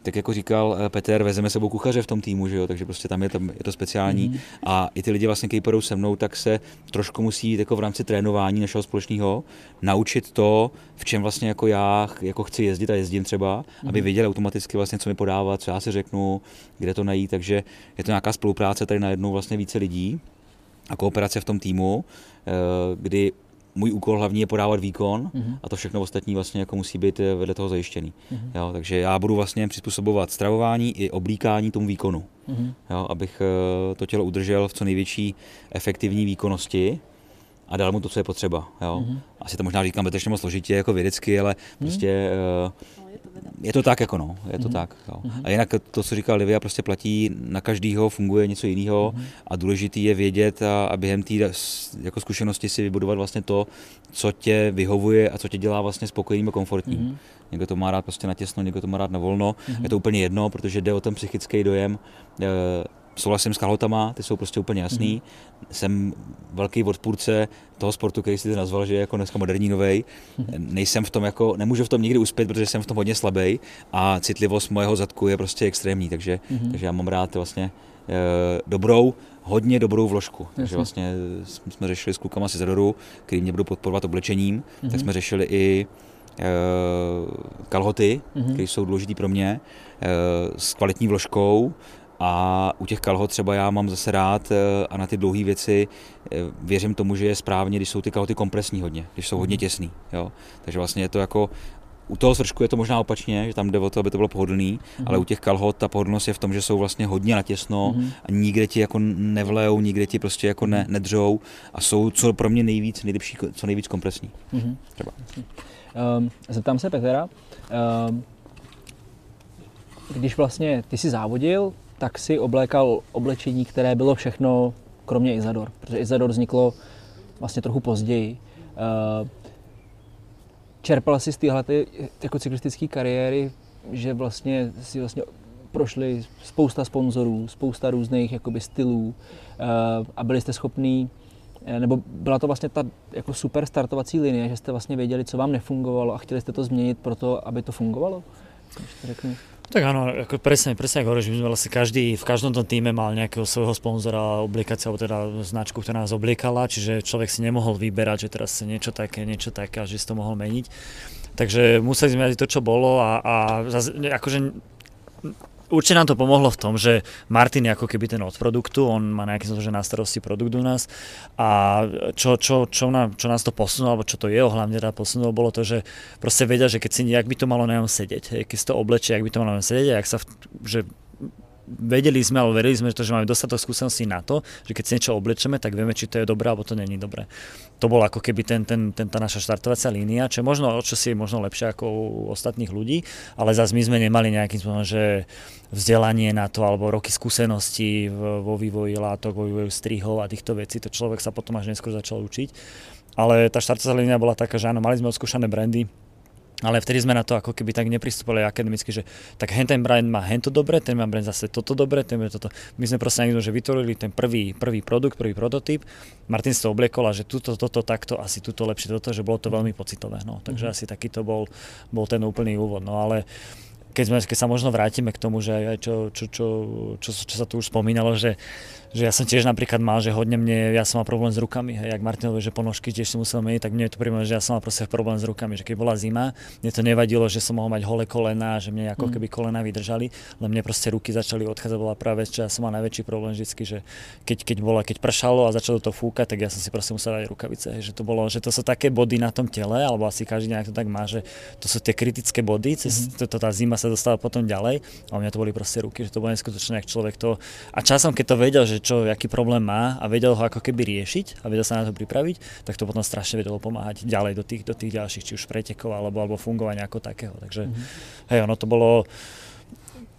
B: tak jako říkal Petr, vezeme sebou kuchaře v tom týmu, že jo, takže prostě tam je, tam je to speciální mm. a i ty lidi vlastně, kteří půjdou se mnou, tak se trošku musí jít jako v rámci trénování našeho společného naučit to, v čem vlastně jako já jako chci jezdit a jezdím třeba, mm. aby věděli automaticky vlastně, co mi podávat, co já si řeknu, kde to najít, takže je to nějaká spolupráce tady najednou vlastně více lidí a kooperace v tom týmu, kdy můj úkol hlavní je podávat výkon mm-hmm. a to všechno ostatní vlastně jako musí být vedle toho zajištěný. Mm-hmm. Jo, takže já budu vlastně přizpůsobovat stravování i oblíkání tomu výkonu, mm-hmm. jo, abych to tělo udržel v co největší efektivní výkonnosti a dal mu to, co je potřeba. Jo. Mm-hmm. Asi to možná říkám betečně moc složitě jako vědecky, ale mm-hmm. prostě uh, je to tak jako no, je to mm-hmm. tak. Jo. Mm-hmm. A jinak to, co říkal Livia, prostě platí na každýho, funguje něco jiného mm-hmm. a důležitý je vědět a, a během té jako zkušenosti si vybudovat vlastně to, co tě vyhovuje a co tě dělá vlastně spokojeným a komfortním. Mm-hmm. Někdo to má rád prostě natěsno, někdo to má rád na volno. Mm-hmm. Je to úplně jedno, protože jde o ten psychický dojem. E, Souhlasím s kalhotama, ty jsou prostě úplně jasný. Mm. Jsem velký odpůrce toho sportu, který si ty nazval, že je jako dneska moderní novej. Mm. Nejsem v tom jako, nemůžu v tom nikdy uspět, protože jsem v tom hodně slabý a citlivost mojeho zadku je prostě extrémní, takže, mm. takže já mám rád vlastně e, dobrou, hodně dobrou vložku. Jasně. Takže vlastně jsme řešili s klukama z Izadoru, který mě budou podporovat oblečením, mm. tak jsme řešili i e, kalhoty, mm. které jsou důležitý pro mě, e, s kvalitní vložkou. A u těch kalhot třeba já mám zase rád a na ty dlouhé věci věřím tomu, že je správně, když jsou ty kalhoty kompresní hodně, když jsou hodně těsný. Jo? Takže vlastně je to jako, u toho svršku je to možná opačně, že tam jde o to, aby to bylo pohodlný, mm-hmm. ale u těch kalhot ta pohodlnost je v tom, že jsou vlastně hodně natěsno mm-hmm. a nikde ti jako nevlejou, nikde ti prostě jako ne, nedřou a jsou co pro mě nejvíc, nejlepší, co nejvíc kompresní. Mm-hmm. Třeba.
A: Um, zeptám se Petra, um, když vlastně ty jsi závodil, tak si oblékal oblečení, které bylo všechno kromě Izador, protože Izador vzniklo vlastně trochu později. Čerpal jsi z téhle jako cyklistické kariéry, že vlastně si vlastně prošli spousta sponzorů, spousta různých jakoby stylů a byli jste schopní, nebo byla to vlastně ta jako super startovací linie, že jste vlastně věděli, co vám nefungovalo a chtěli jste to změnit pro to, aby to fungovalo? Řeknu.
D: Tak áno, ako presne, presne ako hovoríš, my sme vlastne každý, v každom tom týme mal nejakého svojho sponzora, oblikáciu, alebo teda značku, ktorá nás obliekala, čiže človek si nemohol vyberať, že teraz si niečo také, niečo také a že si to mohol meniť. Takže museli sme mať to, čo bolo a, a akože určite nám to pomohlo v tom, že Martin je ako keby ten od produktu, on má nejaký že na starosti produkt u nás a čo, čo, čo, nám, čo nás to posunulo, alebo čo to jeho hlavne teda posunulo, bolo to, že proste vedia, že keď si, jak by to malo na ňom sedieť, keď si to oblečie, jak by to malo na ňom sedieť a jak sa, v, že vedeli sme, alebo verili sme, že, to, že máme dostatok skúseností na to, že keď si niečo oblečeme, tak vieme, či to je dobré, alebo to není dobré. To bola ako keby ten, ten, ten, tá naša štartovacia línia, čo je možno, čo si je možno lepšie ako u ostatných ľudí, ale zase my sme nemali nejakým spôsobom, že vzdelanie na to, alebo roky skúseností vo vývoji látok, vo vývoji strihov a týchto vecí, to človek sa potom až neskôr začal učiť. Ale tá štartovacia línia bola taká, že áno, mali sme odskúšané brandy, ale vtedy sme na to ako keby tak nepristúpili akademicky, že tak hen ten brand má hento dobre, ten má brand zase toto dobre, ten má toto. My sme proste niekto, že vytvorili ten prvý, prvý produkt, prvý prototyp, Martin si to obliekol a že tuto, toto, takto, asi tuto lepšie toto, že bolo to veľmi pocitové. No. Takže mm-hmm. asi taký to bol, bol ten úplný úvod. No ale keď, sme, keď sa možno vrátime k tomu, že aj čo, čo, čo, čo, čo sa tu už spomínalo, že že ja som tiež napríklad mal, že hodne mne, ja som mal problém s rukami, hej, jak Martin hovorí, že ponožky tiež si musel meniť, tak mne je to príjemné, že ja som mal proste problém s rukami, že keď bola zima, mne to nevadilo, že som mohol mať holé kolená, že mne ako keby kolená vydržali, len mne proste ruky začali odchádzať, bola práve vec, čo ja som mal najväčší problém vždycky, že keď, keď, bola, keď pršalo a začalo to fúkať, tak ja som si proste musel dať rukavice, hej, že to bolo, že to sú také body na tom tele, alebo asi každý nejak to tak má, že to sú tie kritické body, cez mm-hmm. to, to, tá zima sa dostala potom ďalej, a u mňa to boli proste ruky, že to bolo neskutočné, jak človek to, a časom keď to vedel, že čo, aký problém má a vedel ho ako keby riešiť a vedel sa na to pripraviť, tak to potom strašne vedelo pomáhať ďalej do tých, do tých ďalších, či už pretekov alebo, alebo fungovania ako takého. Takže mm-hmm. hej, ono to bolo,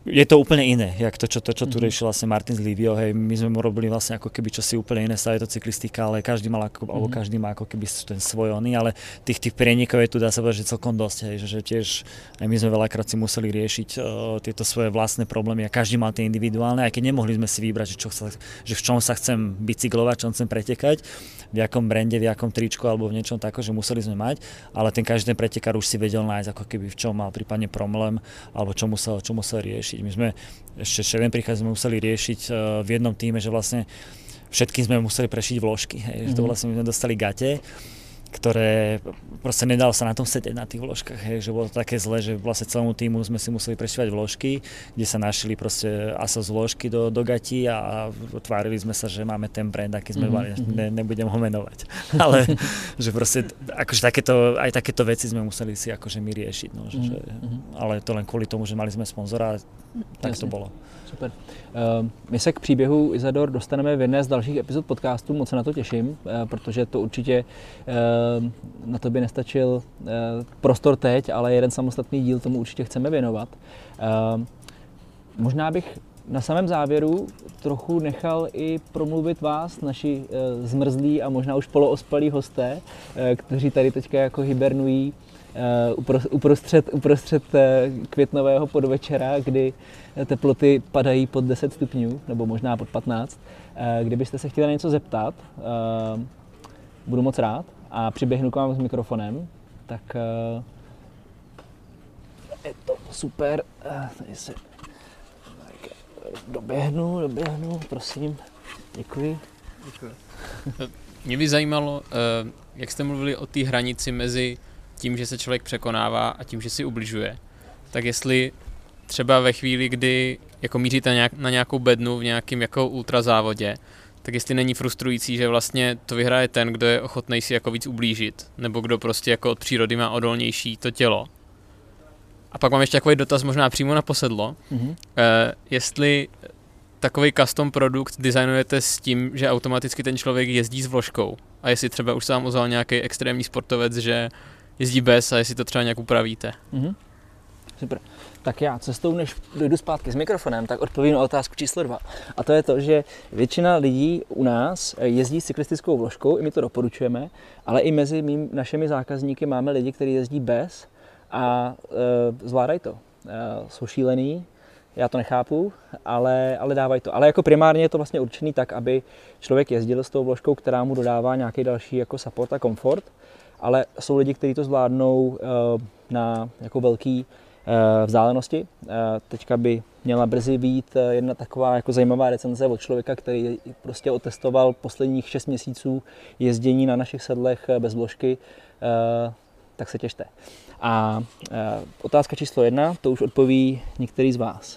D: je to úplne iné, jak to, čo, to, čo tu riešil vlastne Martin z Livio, hej, my sme mu robili vlastne ako keby čosi úplne iné, stále je to cyklistika, ale každý mal ako, mm-hmm. alebo každý má ako keby ten svoj oný, ale tých, tých prienikov je tu, dá sa povedať, že celkom dosť, hej, že, že tiež aj my sme veľakrát si museli riešiť uh, tieto svoje vlastné problémy a každý mal tie individuálne, aj keď nemohli sme si vybrať, že, čo sa, že v čom sa chcem bicyklovať, čom chcem pretekať, v jakom brande, v jakom tričku alebo v niečom takom, že museli sme mať, ale ten každý ten pretekár už si vedel nájsť ako keby v čom mal prípadne problém alebo čo musel, čo musel riešiť. My sme ešte Ševen príchod sme museli riešiť v jednom týme, že vlastne všetkým sme museli prešiť vložky. Hej. Mm-hmm. Že to vlastne my sme dostali gate, ktoré proste nedalo sa na tom sedieť na tých vložkách, hej, že bolo to také zle, že vlastne celému týmu sme si museli prešívať vložky, kde sa našli proste Asos vložky do, do gatí a tvárili sme sa, že máme ten brand, aký sme mali, mm-hmm. ne, nebudem ho menovať. Ale že proste akože takéto, aj takéto veci sme museli si akože my riešiť, no, že, mm-hmm. že, ale to len kvôli tomu, že mali sme sponzora, tak to bolo.
A: Super. Uh, my se k příběhu Isador dostaneme v jedné z dalších epizod podcastu, moc se na to těším, uh, protože to určitě uh, na to by nestačil uh, prostor teď, ale jeden samostatný díl tomu určitě chceme věnovat. Uh, možná bych na samém závěru trochu nechal i promluvit vás, naši uh, zmrzlí a možná už poloospalí hosté, uh, kteří tady teďka jako hibernují uh, uprostřed, uprostřed uh, květnového podvečera, kdy teploty padají pod deset stupňů, nebo možná pod patnáct. Uh, kdybyste se chtěli něco zeptat, uh, budu moc rád a přiběhnu k vám s mikrofonem, tak uh, je to super. Uh, tady se doběhnu, doběhnu, prosím. Děkuji. Děkuji.
E: Mě by zajímalo, jak jste mluvili o té hranici mezi tím, že se člověk překonává a tím, že si ubližuje. Tak jestli třeba ve chvíli, kdy jako míříte na nějakou bednu v nějakém jako ultrazávodě, tak jestli není frustrující, že vlastně to vyhraje ten, kdo je ochotný si jako víc ublížit, nebo kdo prostě jako od přírody má odolnější to tělo. A pak mám ještě takový dotaz možná přímo na posedlo. Mm-hmm. E, jestli takový custom produkt designujete s tím, že automaticky ten člověk jezdí s vložkou. A jestli třeba už se vám ozval nějaký extrémní sportovec, že jezdí bez a jestli to třeba nějak upravíte.
A: Mm-hmm. Super. Tak já cestou, než dojdu zpátky s mikrofonem, tak odpovím na otázku číslo dva. A to je to, že většina lidí u nás jezdí s cyklistickou vložkou, i my to doporučujeme, ale i mezi mým, našimi zákazníky máme lidi, kteří jezdí bez a e, zvládají to. E, jsou šílený, já to nechápu, ale, ale dávají to. Ale jako primárně je to vlastně určený tak, aby člověk jezdil s tou vložkou, která mu dodává nějaký další jako support a komfort, ale jsou lidi, kteří to zvládnou e, na jako velký vzdálenosti. Teďka by měla brzy být jedna taková jako zajímavá recenze od člověka, který prostě otestoval posledních šest měsíců jezdění na našich sedlech bez vložky, tak se těšte. A otázka číslo jedna, to už odpoví některý z vás.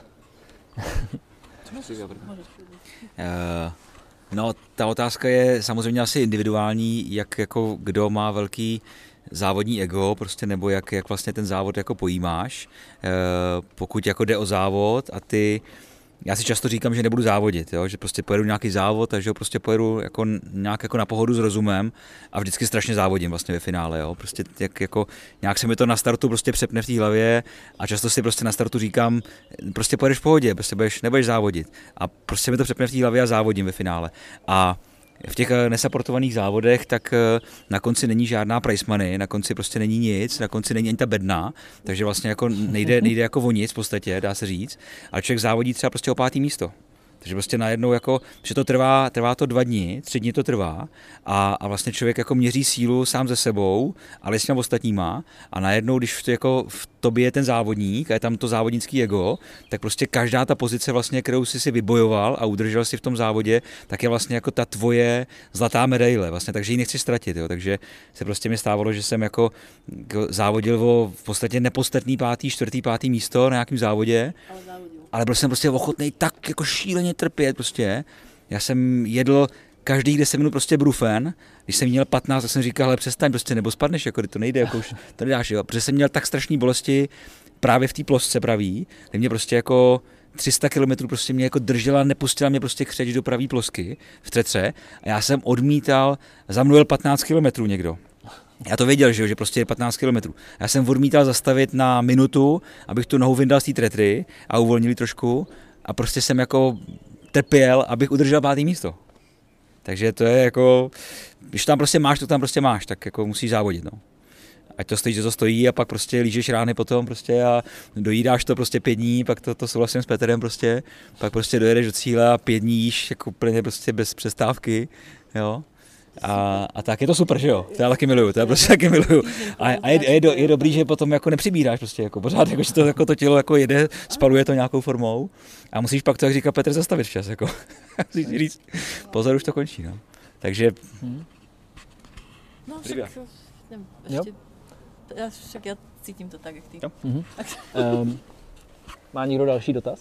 B: No, ta otázka je samozřejmě asi individuální, jak jako kdo má velký závodní ego, prostě, nebo jak, jak vlastně ten závod jako pojímáš. E, pokud jako jde o závod a ty, já si často říkám, že nebudu závodit, jo? Že prostě pojedu nějaký závod, takže ho prostě pojedu jako, nějak jako na pohodu s rozumem a vždycky strašně závodím vlastně ve finále, jo? Prostě jak, jako, nějak se mi to na startu prostě přepne v té hlavě a často si prostě na startu říkám, prostě pojedeš v pohodě, prostě budeš, nebudeš závodit a prostě mi to přepne v té hlavě a závodím ve finále. A v těch nesaportovaných závodech, tak na konci není žádná prize money, na konci prostě není nic, na konci není ani ta bedna, takže vlastně jako nejde, nejde jako o nic v podstatě, dá se říct, ale člověk závodí třeba prostě o pátý místo. Takže prostě najednou jako, že to trvá, trvá to dva dny, tři dny to trvá a, a vlastně člověk jako měří sílu sám ze sebou, ale s těmi ostatníma a najednou, když v, jako v tobě je ten závodník a je tam to závodnický ego, tak prostě každá ta pozice vlastně, kterou jsi si vybojoval a udržel si v tom závodě, tak je vlastně jako ta tvoje zlatá medaile, vlastně, takže ji nechci ztratit, jo. Takže se prostě mi stávalo, že jsem jako, jako závodil o v podstatě nepodstatný pátý, čtvrtý, pátý místo na nějakém závodě. Ale byl jsem prostě ochotný tak jako šíleně trpět prostě. Já jsem jedl každých deset minut prostě brufen. Když jsem měl patnáct, tak jsem říkal, ale přestaň prostě, nebo spadneš, jako to nejde, jako už to nedáš, jo. Protože jsem měl tak strašné bolesti právě v té plosce pravý, kde mě prostě jako tři sta kilometrů prostě mě jako držela, nepustila mě prostě křeč do pravý plosky v třetře a já jsem odmítal, za mnou jel patnáct kilometrů někdo. Já to věděl, že, že prostě je patnáct kilometrů. Já jsem odmítal zastavit na minutu, abych tu nohu vyndal z té tretry a uvolnil trošku a prostě jsem jako trpěl, abych udržel pátý místo. Takže to je jako, když tam prostě máš, to tam prostě máš, tak jako musíš závodit, no. Ať to stojí, že to stojí a pak prostě lížeš rány potom prostě a dojídáš to prostě pět dní, pak to, to souhlasím s Petrem prostě, pak prostě dojedeš do cíle a pět dní jíš jako úplně prostě bez přestávky, jo. A, a tak je to super, že jo, to já taky miluju, to já prostě taky miluju. A, a je, je, do, je dobrý, že potom jako nepřibíráš prostě, jako pořád, jako, že to, jako to tělo jako jede, spaluje to nějakou formou a musíš pak to, jak říká Petr, zastavit včas, jako. Musíš říct, pozor, už to končí, no. Takže...
C: Hmm. No však, nevím, ještě, já, však já cítím to tak, jak ty.
A: Mm-hmm. um, má někdo další dotaz?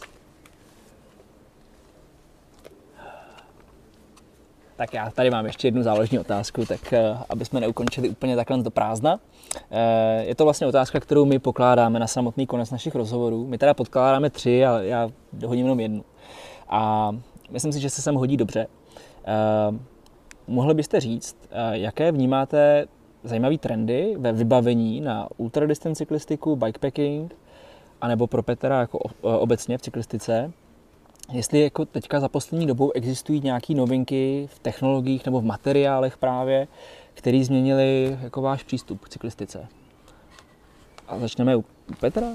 A: Tak já tady mám ještě jednu záložní otázku, tak uh, aby jsme neukončili úplně takhle do prázdna. Uh, je to vlastně otázka, kterou my pokládáme na samotný konec našich rozhovorů. My teda podkládáme tři a já hodím jenom jednu. A myslím si, že se sem hodí dobře. Uh, mohli byste říct, uh, jaké vnímáte zajímavé trendy ve vybavení na ultradistance cyklistiku, bikepacking, anebo pro Petra jako obecně v cyklistice? Jestli jako teďka za poslední dobou existují nějaké novinky v technologiích nebo v materiálech právě, které změnily jako váš přístup k cyklistice. A začneme u Petra.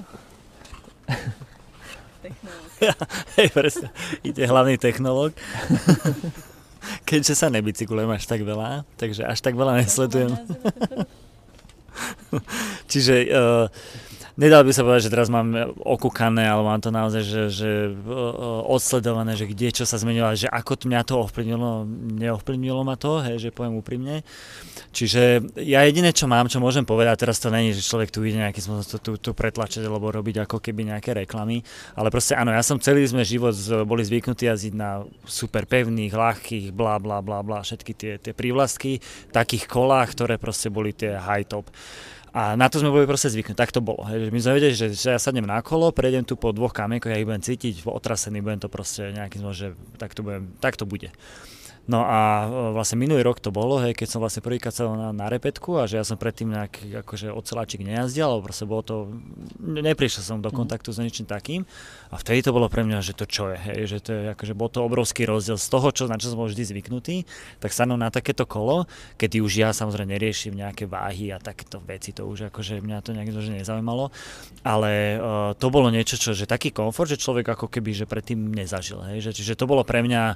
D: Ja, hej, presne. Ide hlavný technológ. Keďže sa nebicyklujem až tak veľa, takže až tak veľa nesledujem. Čiže uh, nedal by sa povedať, že teraz mám okúkané, ale mám to naozaj, že, že uh, odsledované, že kde čo sa zmenilo, že ako mňa to ovplyvnilo, neovplyvnilo ma to, hej, že poviem úprimne. Čiže ja jediné, čo mám, čo môžem povedať, teraz to není, že človek tu ide nejaký spôsob tu, tu pretlačiť alebo robiť ako keby nejaké reklamy, ale proste áno, ja som celý sme život boli zvyknutí jazdiť na super pevných, ľahkých, blá, blá, blá, blá, všetky tie, tie prívlastky, takých kolách, ktoré proste boli tie high top. A na to sme boli proste zvyknutí, tak to bolo. Hej. My sme vedeli, že, že ja sadnem na kolo, prejdem tu po dvoch kamienkoch, ja ich budem cítiť, otrasený, budem to proste nejakým spôsobom, že tak to, budem, tak to bude. No a vlastne minulý rok to bolo, hej, keď som vlastne prvýkrát sedel na, na repetku a že ja som predtým nejaký akože oceláčik nejazdil, alebo proste bolo to, neprišiel som do kontaktu s ničím takým a vtedy to bolo pre mňa, že to čo je, hej, že to je akože bol to obrovský rozdiel z toho, čo, na čo som bol vždy zvyknutý, tak sadnúť na takéto kolo, kedy už ja samozrejme neriešim nejaké váhy a takéto veci, to už akože mňa to nejak nezaujímalo, ale uh, to bolo niečo, čo, že taký komfort, že človek ako keby, že predtým nezažil, hej, že, čiže to bolo pre mňa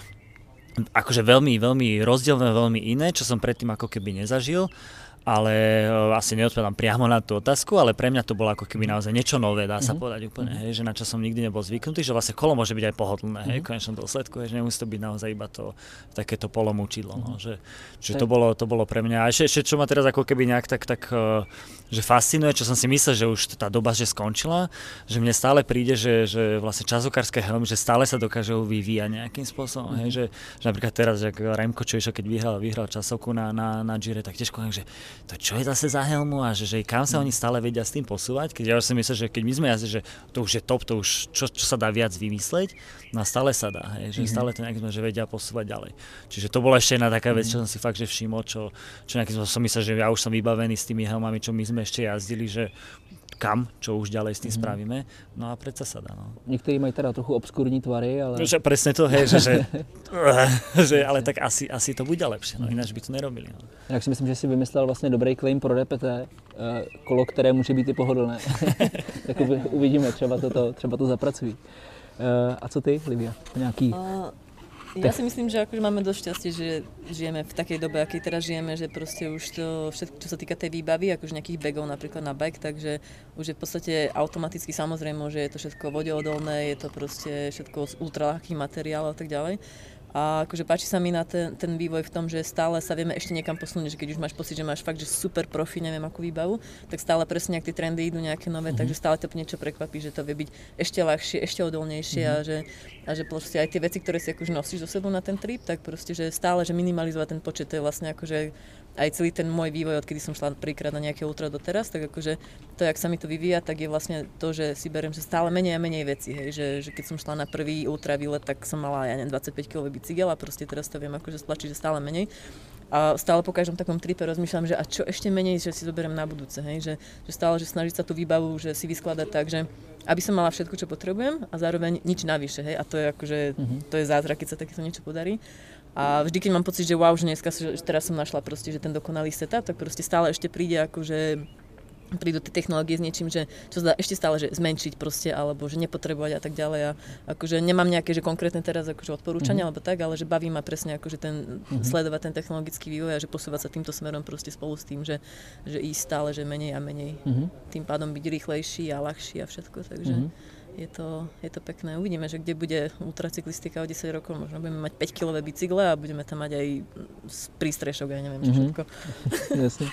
D: akože veľmi, veľmi rozdielne, veľmi iné, čo som predtým ako keby nezažil, ale uh, asi neodpovedám priamo na tú otázku, ale pre mňa to bolo ako keby naozaj niečo nové, dá sa mm-hmm. povedať úplne, hej, že na čo som nikdy nebol zvyknutý, že vlastne kolo môže byť aj pohodlné, hej, v konečnom dôsledku, hej, že nemusí to byť naozaj iba to takéto polomúčidlo, no, že, že to bolo, to bolo pre mňa, a ešte, ešte čo ma teraz ako keby nejak tak, tak uh, že fascinuje, čo som si myslel, že už tá doba že skončila, že mne stále príde, že, že vlastne časokárske helmy, že stále sa dokážu vyvíjať nejakým spôsobom, hej, že, že napríklad teraz, že Remko, čo išiel, keď vyhral, vyhral časovku na, na, na Gire, tak tiež poviem, že to čo je zase za helmu a že, že kam sa oni stále vedia s tým posúvať, keď ja už si myslím, že keď my sme jazdili, že to už je top, to už čo, čo sa dá viac vymysleť, no a stále sa dá, hej, že mm-hmm. stále to nejakým sme, že vedia posúvať ďalej. Čiže to bola ešte jedna taká vec, čo som si fakt že všimol, čo, čo nejakým som myslel, že ja už som vybavený s tými helmami, čo my sme ešte jazdili, že kam, čo už ďalej s tým mm-hmm. spravíme, no a predsa sa dá. No.
A: Niektorí majú teda trochu obskúrní tvary, ale...
D: Že presne to, hej, že, že, že ale tak asi, asi to bude lepšie, no ináč by to nerobili. No.
A: Jak si myslím, že si vymyslel vlastně dobrý claim pro D P T, kolo, které může být i pohodlné. Tak uvidíme, třeba to, to, třeba to zapracují. A co ty, Livia? Nějaký... Uh...
C: Ja si myslím, že akože máme dosť šťastie, že žijeme v takej dobe, akej teraz žijeme, že proste už to všetko, čo sa týka tej výbavy, akože nejakých bagov napríklad na bike, takže už je v podstate automaticky samozrejme, že je to všetko vodeodolné, je to proste všetko z ultraľahkých materiálov a tak ďalej. A akože páči sa mi na ten, ten vývoj v tom, že stále sa vieme ešte niekam posunúť, že keď už máš pocit, že máš fakt, že super profi, neviem akú výbavu, tak stále presne, ak tie trendy idú nejaké nové, mm-hmm. takže stále to niečo prekvapí, že to vie byť ešte ľahšie, ešte odolnejšie mm-hmm. a, že, a že proste aj tie veci, ktoré si akože nosíš so sebou na ten trip, tak proste, že stále, že minimalizovať ten počet, to je vlastne akože aj celý ten môj vývoj, odkedy som šla prvýkrát na nejaké ultra doteraz, tak akože to, jak sa mi to vyvíja, tak je vlastne to, že si beriem, že stále menej a menej veci, hej, že, že keď som šla na prvý ultra výlet, tak som mala, ja neviem, dvadsaťpäť kilový bicykel a proste teraz to viem akože stlačiť, že stále menej. A stále po každom takom tripe rozmýšľam, že a čo ešte menej, že si zoberiem na budúce, hej? Že, že stále, že snažiť sa tú výbavu, že si vyskladať tak, že aby som mala všetko, čo potrebujem a zároveň nič navyše, hej? A to je akože, mm-hmm. to je zázrak, keď sa takéto niečo podarí. A vždy, keď mám pocit, že wow, že dneska, že teraz som našla proste, že ten dokonalý setup, tak proste stále ešte príde akože prídu tie technológie s niečím, že čo sa dá ešte stále že zmenšiť proste, alebo že nepotrebovať a tak ďalej. A akože nemám nejaké, že konkrétne teraz akože odporúčania, mm-hmm. alebo tak, ale že baví ma presne akože ten, mm-hmm. sledovať ten technologický vývoj a že posúvať sa týmto smerom proste spolu s tým, že, že ísť stále, že menej a menej. Mm-hmm. Tým pádom byť rýchlejší a ľahší a všetko, takže mm-hmm. je, to, je to pekné. Uvidíme, že kde bude ultracyklistika o desať rokov, možno budeme mať päťkilové bicykle a budeme tam mať aj prístrešok, ja neviem, čo všetko.
A: Jasne.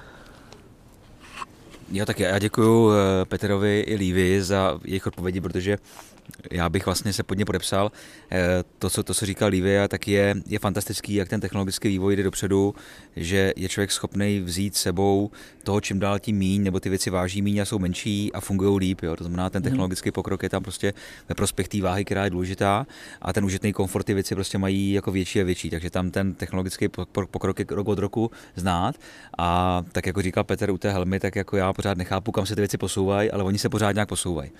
B: Jo, tak já děkuju Peterovi i Lívii za jejich odpovědi, protože já bych vlastně se pod ně podepsal. To, co, to, co říkal Lívia, tak je, je fantastický, jak ten technologický vývoj jde dopředu, že je člověk schopný vzít sebou toho, čím dál tím míň, nebo ty věci váží míň a jsou menší a fungují líp. Jo. To znamená, ten technologický pokrok je tam prostě ve prospěch té váhy, která je důležitá, a ten užitný komfort, ty věci prostě mají jako větší a větší, takže tam ten technologický pokrok je rok od roku znát. A tak jako říkal Petr u té helmy, tak jako já pořád nechápu, kam se ty věci posouvají, ale oni se pořád nějak posouvají.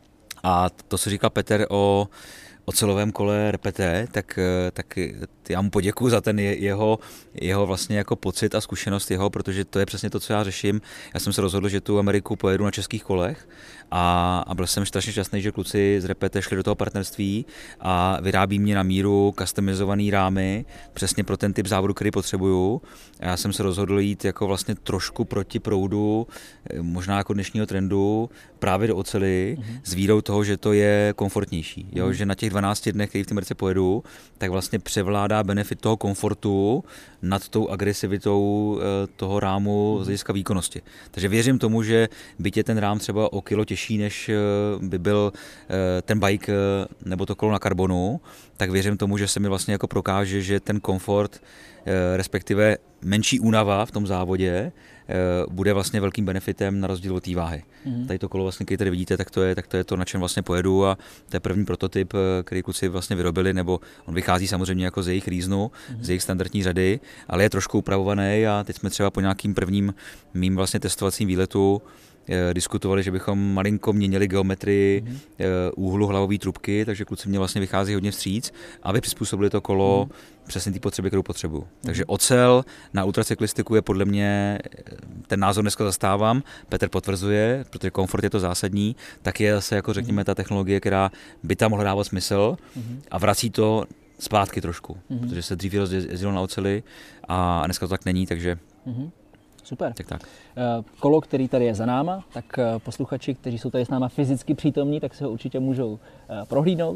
B: A to, co říkal Petr o ocelovém kole R P T, tak, tak já mu poděkuju za ten jeho, jeho vlastně jako pocit a zkušenost jeho, protože to je přesně to, co já řeším. Já jsem se rozhodl, že tu Ameriku pojedu na českých kolech a, a byl jsem strašně šťastný, že kluci z R P T šli do toho partnerství a vyrábí mě na míru customizovaný rámy přesně pro ten typ závodu, který potřebuju. A já jsem se rozhodl jít jako vlastně trošku proti proudu, možná jako dnešního trendu, právě do oceli, mm-hmm. s vírou toho, že to je komfortnější. Jo? Mm-hmm. Že na těch dvanácti dnech, který v té Americe pojedu, tak vlastně převládá benefit toho komfortu nad tou agresivitou toho rámu z hlediska výkonnosti. Takže věřím tomu, že byť je ten rám třeba o kilo těžší, než by byl ten bike nebo to kolo na karbonu, tak věřím tomu, že se mi vlastně jako prokáže, že ten komfort, respektive menší únava v tom závodě, bude vlastně velkým benefitem na rozdíl od té váhy. Mm. Tady to kolo, vlastně, který tady vidíte, tak to, je, tak to je to, na čem vlastně pojedu, a to je první prototyp, který kluci vlastně vyrobili, nebo on vychází samozřejmě jako z jejich reasonu, mm. z jejich standardní řady, ale je trošku upravovaný, a teď jsme třeba po nějakým prvním mým vlastně testovacím výletu diskutovali, že bychom malinko měnili geometrii mm. úhlu hlavové trubky, takže kluci mě vlastně vychází hodně vstříc, aby přizpůsobili to kolo mm. přesně té potřeby, kterou potřebuju. Mm. Takže ocel na ultracyklistiku je podle mě, ten názor dneska zastávám, Petr potvrzuje, protože komfort je to zásadní, tak je zase jako řekněme ta technologie, která by tam mohla dávat smysl mm. a vrací to zpátky trošku, mm. protože se dřív jezdilo na oceli a dneska to tak není, takže
A: mm. Super.
B: Tak, tak.
A: Kolo, který tady je za náma, tak posluchači, kteří jsou tady s náma fyzicky přítomní, tak se ho určitě můžou prohlídnout.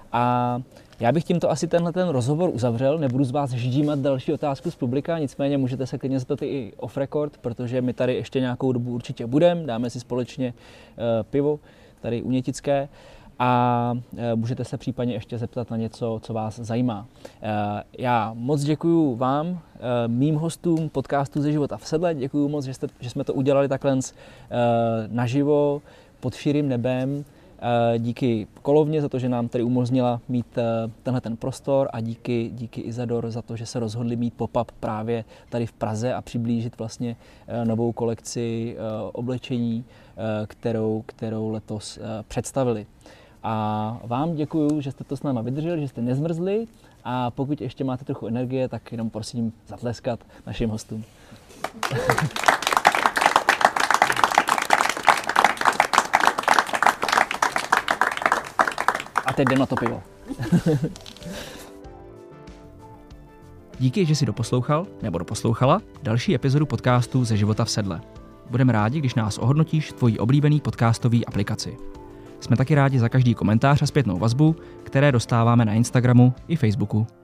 A: A já bych tímto asi tenhle ten rozhovor uzavřel, nebudu z vás ždímat další otázku z publika, nicméně můžete se klidně zeptat i off record, protože my tady ještě nějakou dobu určitě budeme, dáme si společně pivo tady u Nětické. A můžete se případně ještě zeptat na něco, co vás zajímá. Já moc děkuju vám, mým hostům podcastu Ze života v sedle. Děkuju moc, že, jste, že jsme to udělali takhle naživo, pod širým nebem. Díky Kolovně za to, že nám tady umožnila mít tenhle ten prostor, a díky, díky Isador za to, že se rozhodli mít pop-up právě tady v Praze a přiblížit vlastně novou kolekci oblečení, kterou, kterou letos představili. A vám děkuju, že jste to s náma vydrželi, že jste nezmrzli, a pokud ještě máte trochu energie, tak jenom prosím zatleskat našim hostům. A teď jdem na to pivo. Díky, že jsi doposlouchal nebo doposlouchala další epizodu podcastu Ze života v sedle. Budeme rádi, když nás ohodnotíš v tvojí oblíbený podcastový aplikaci. Jsme taky rádi za každý komentář a zpětnou vazbu, které dostáváme na Instagramu i Facebooku.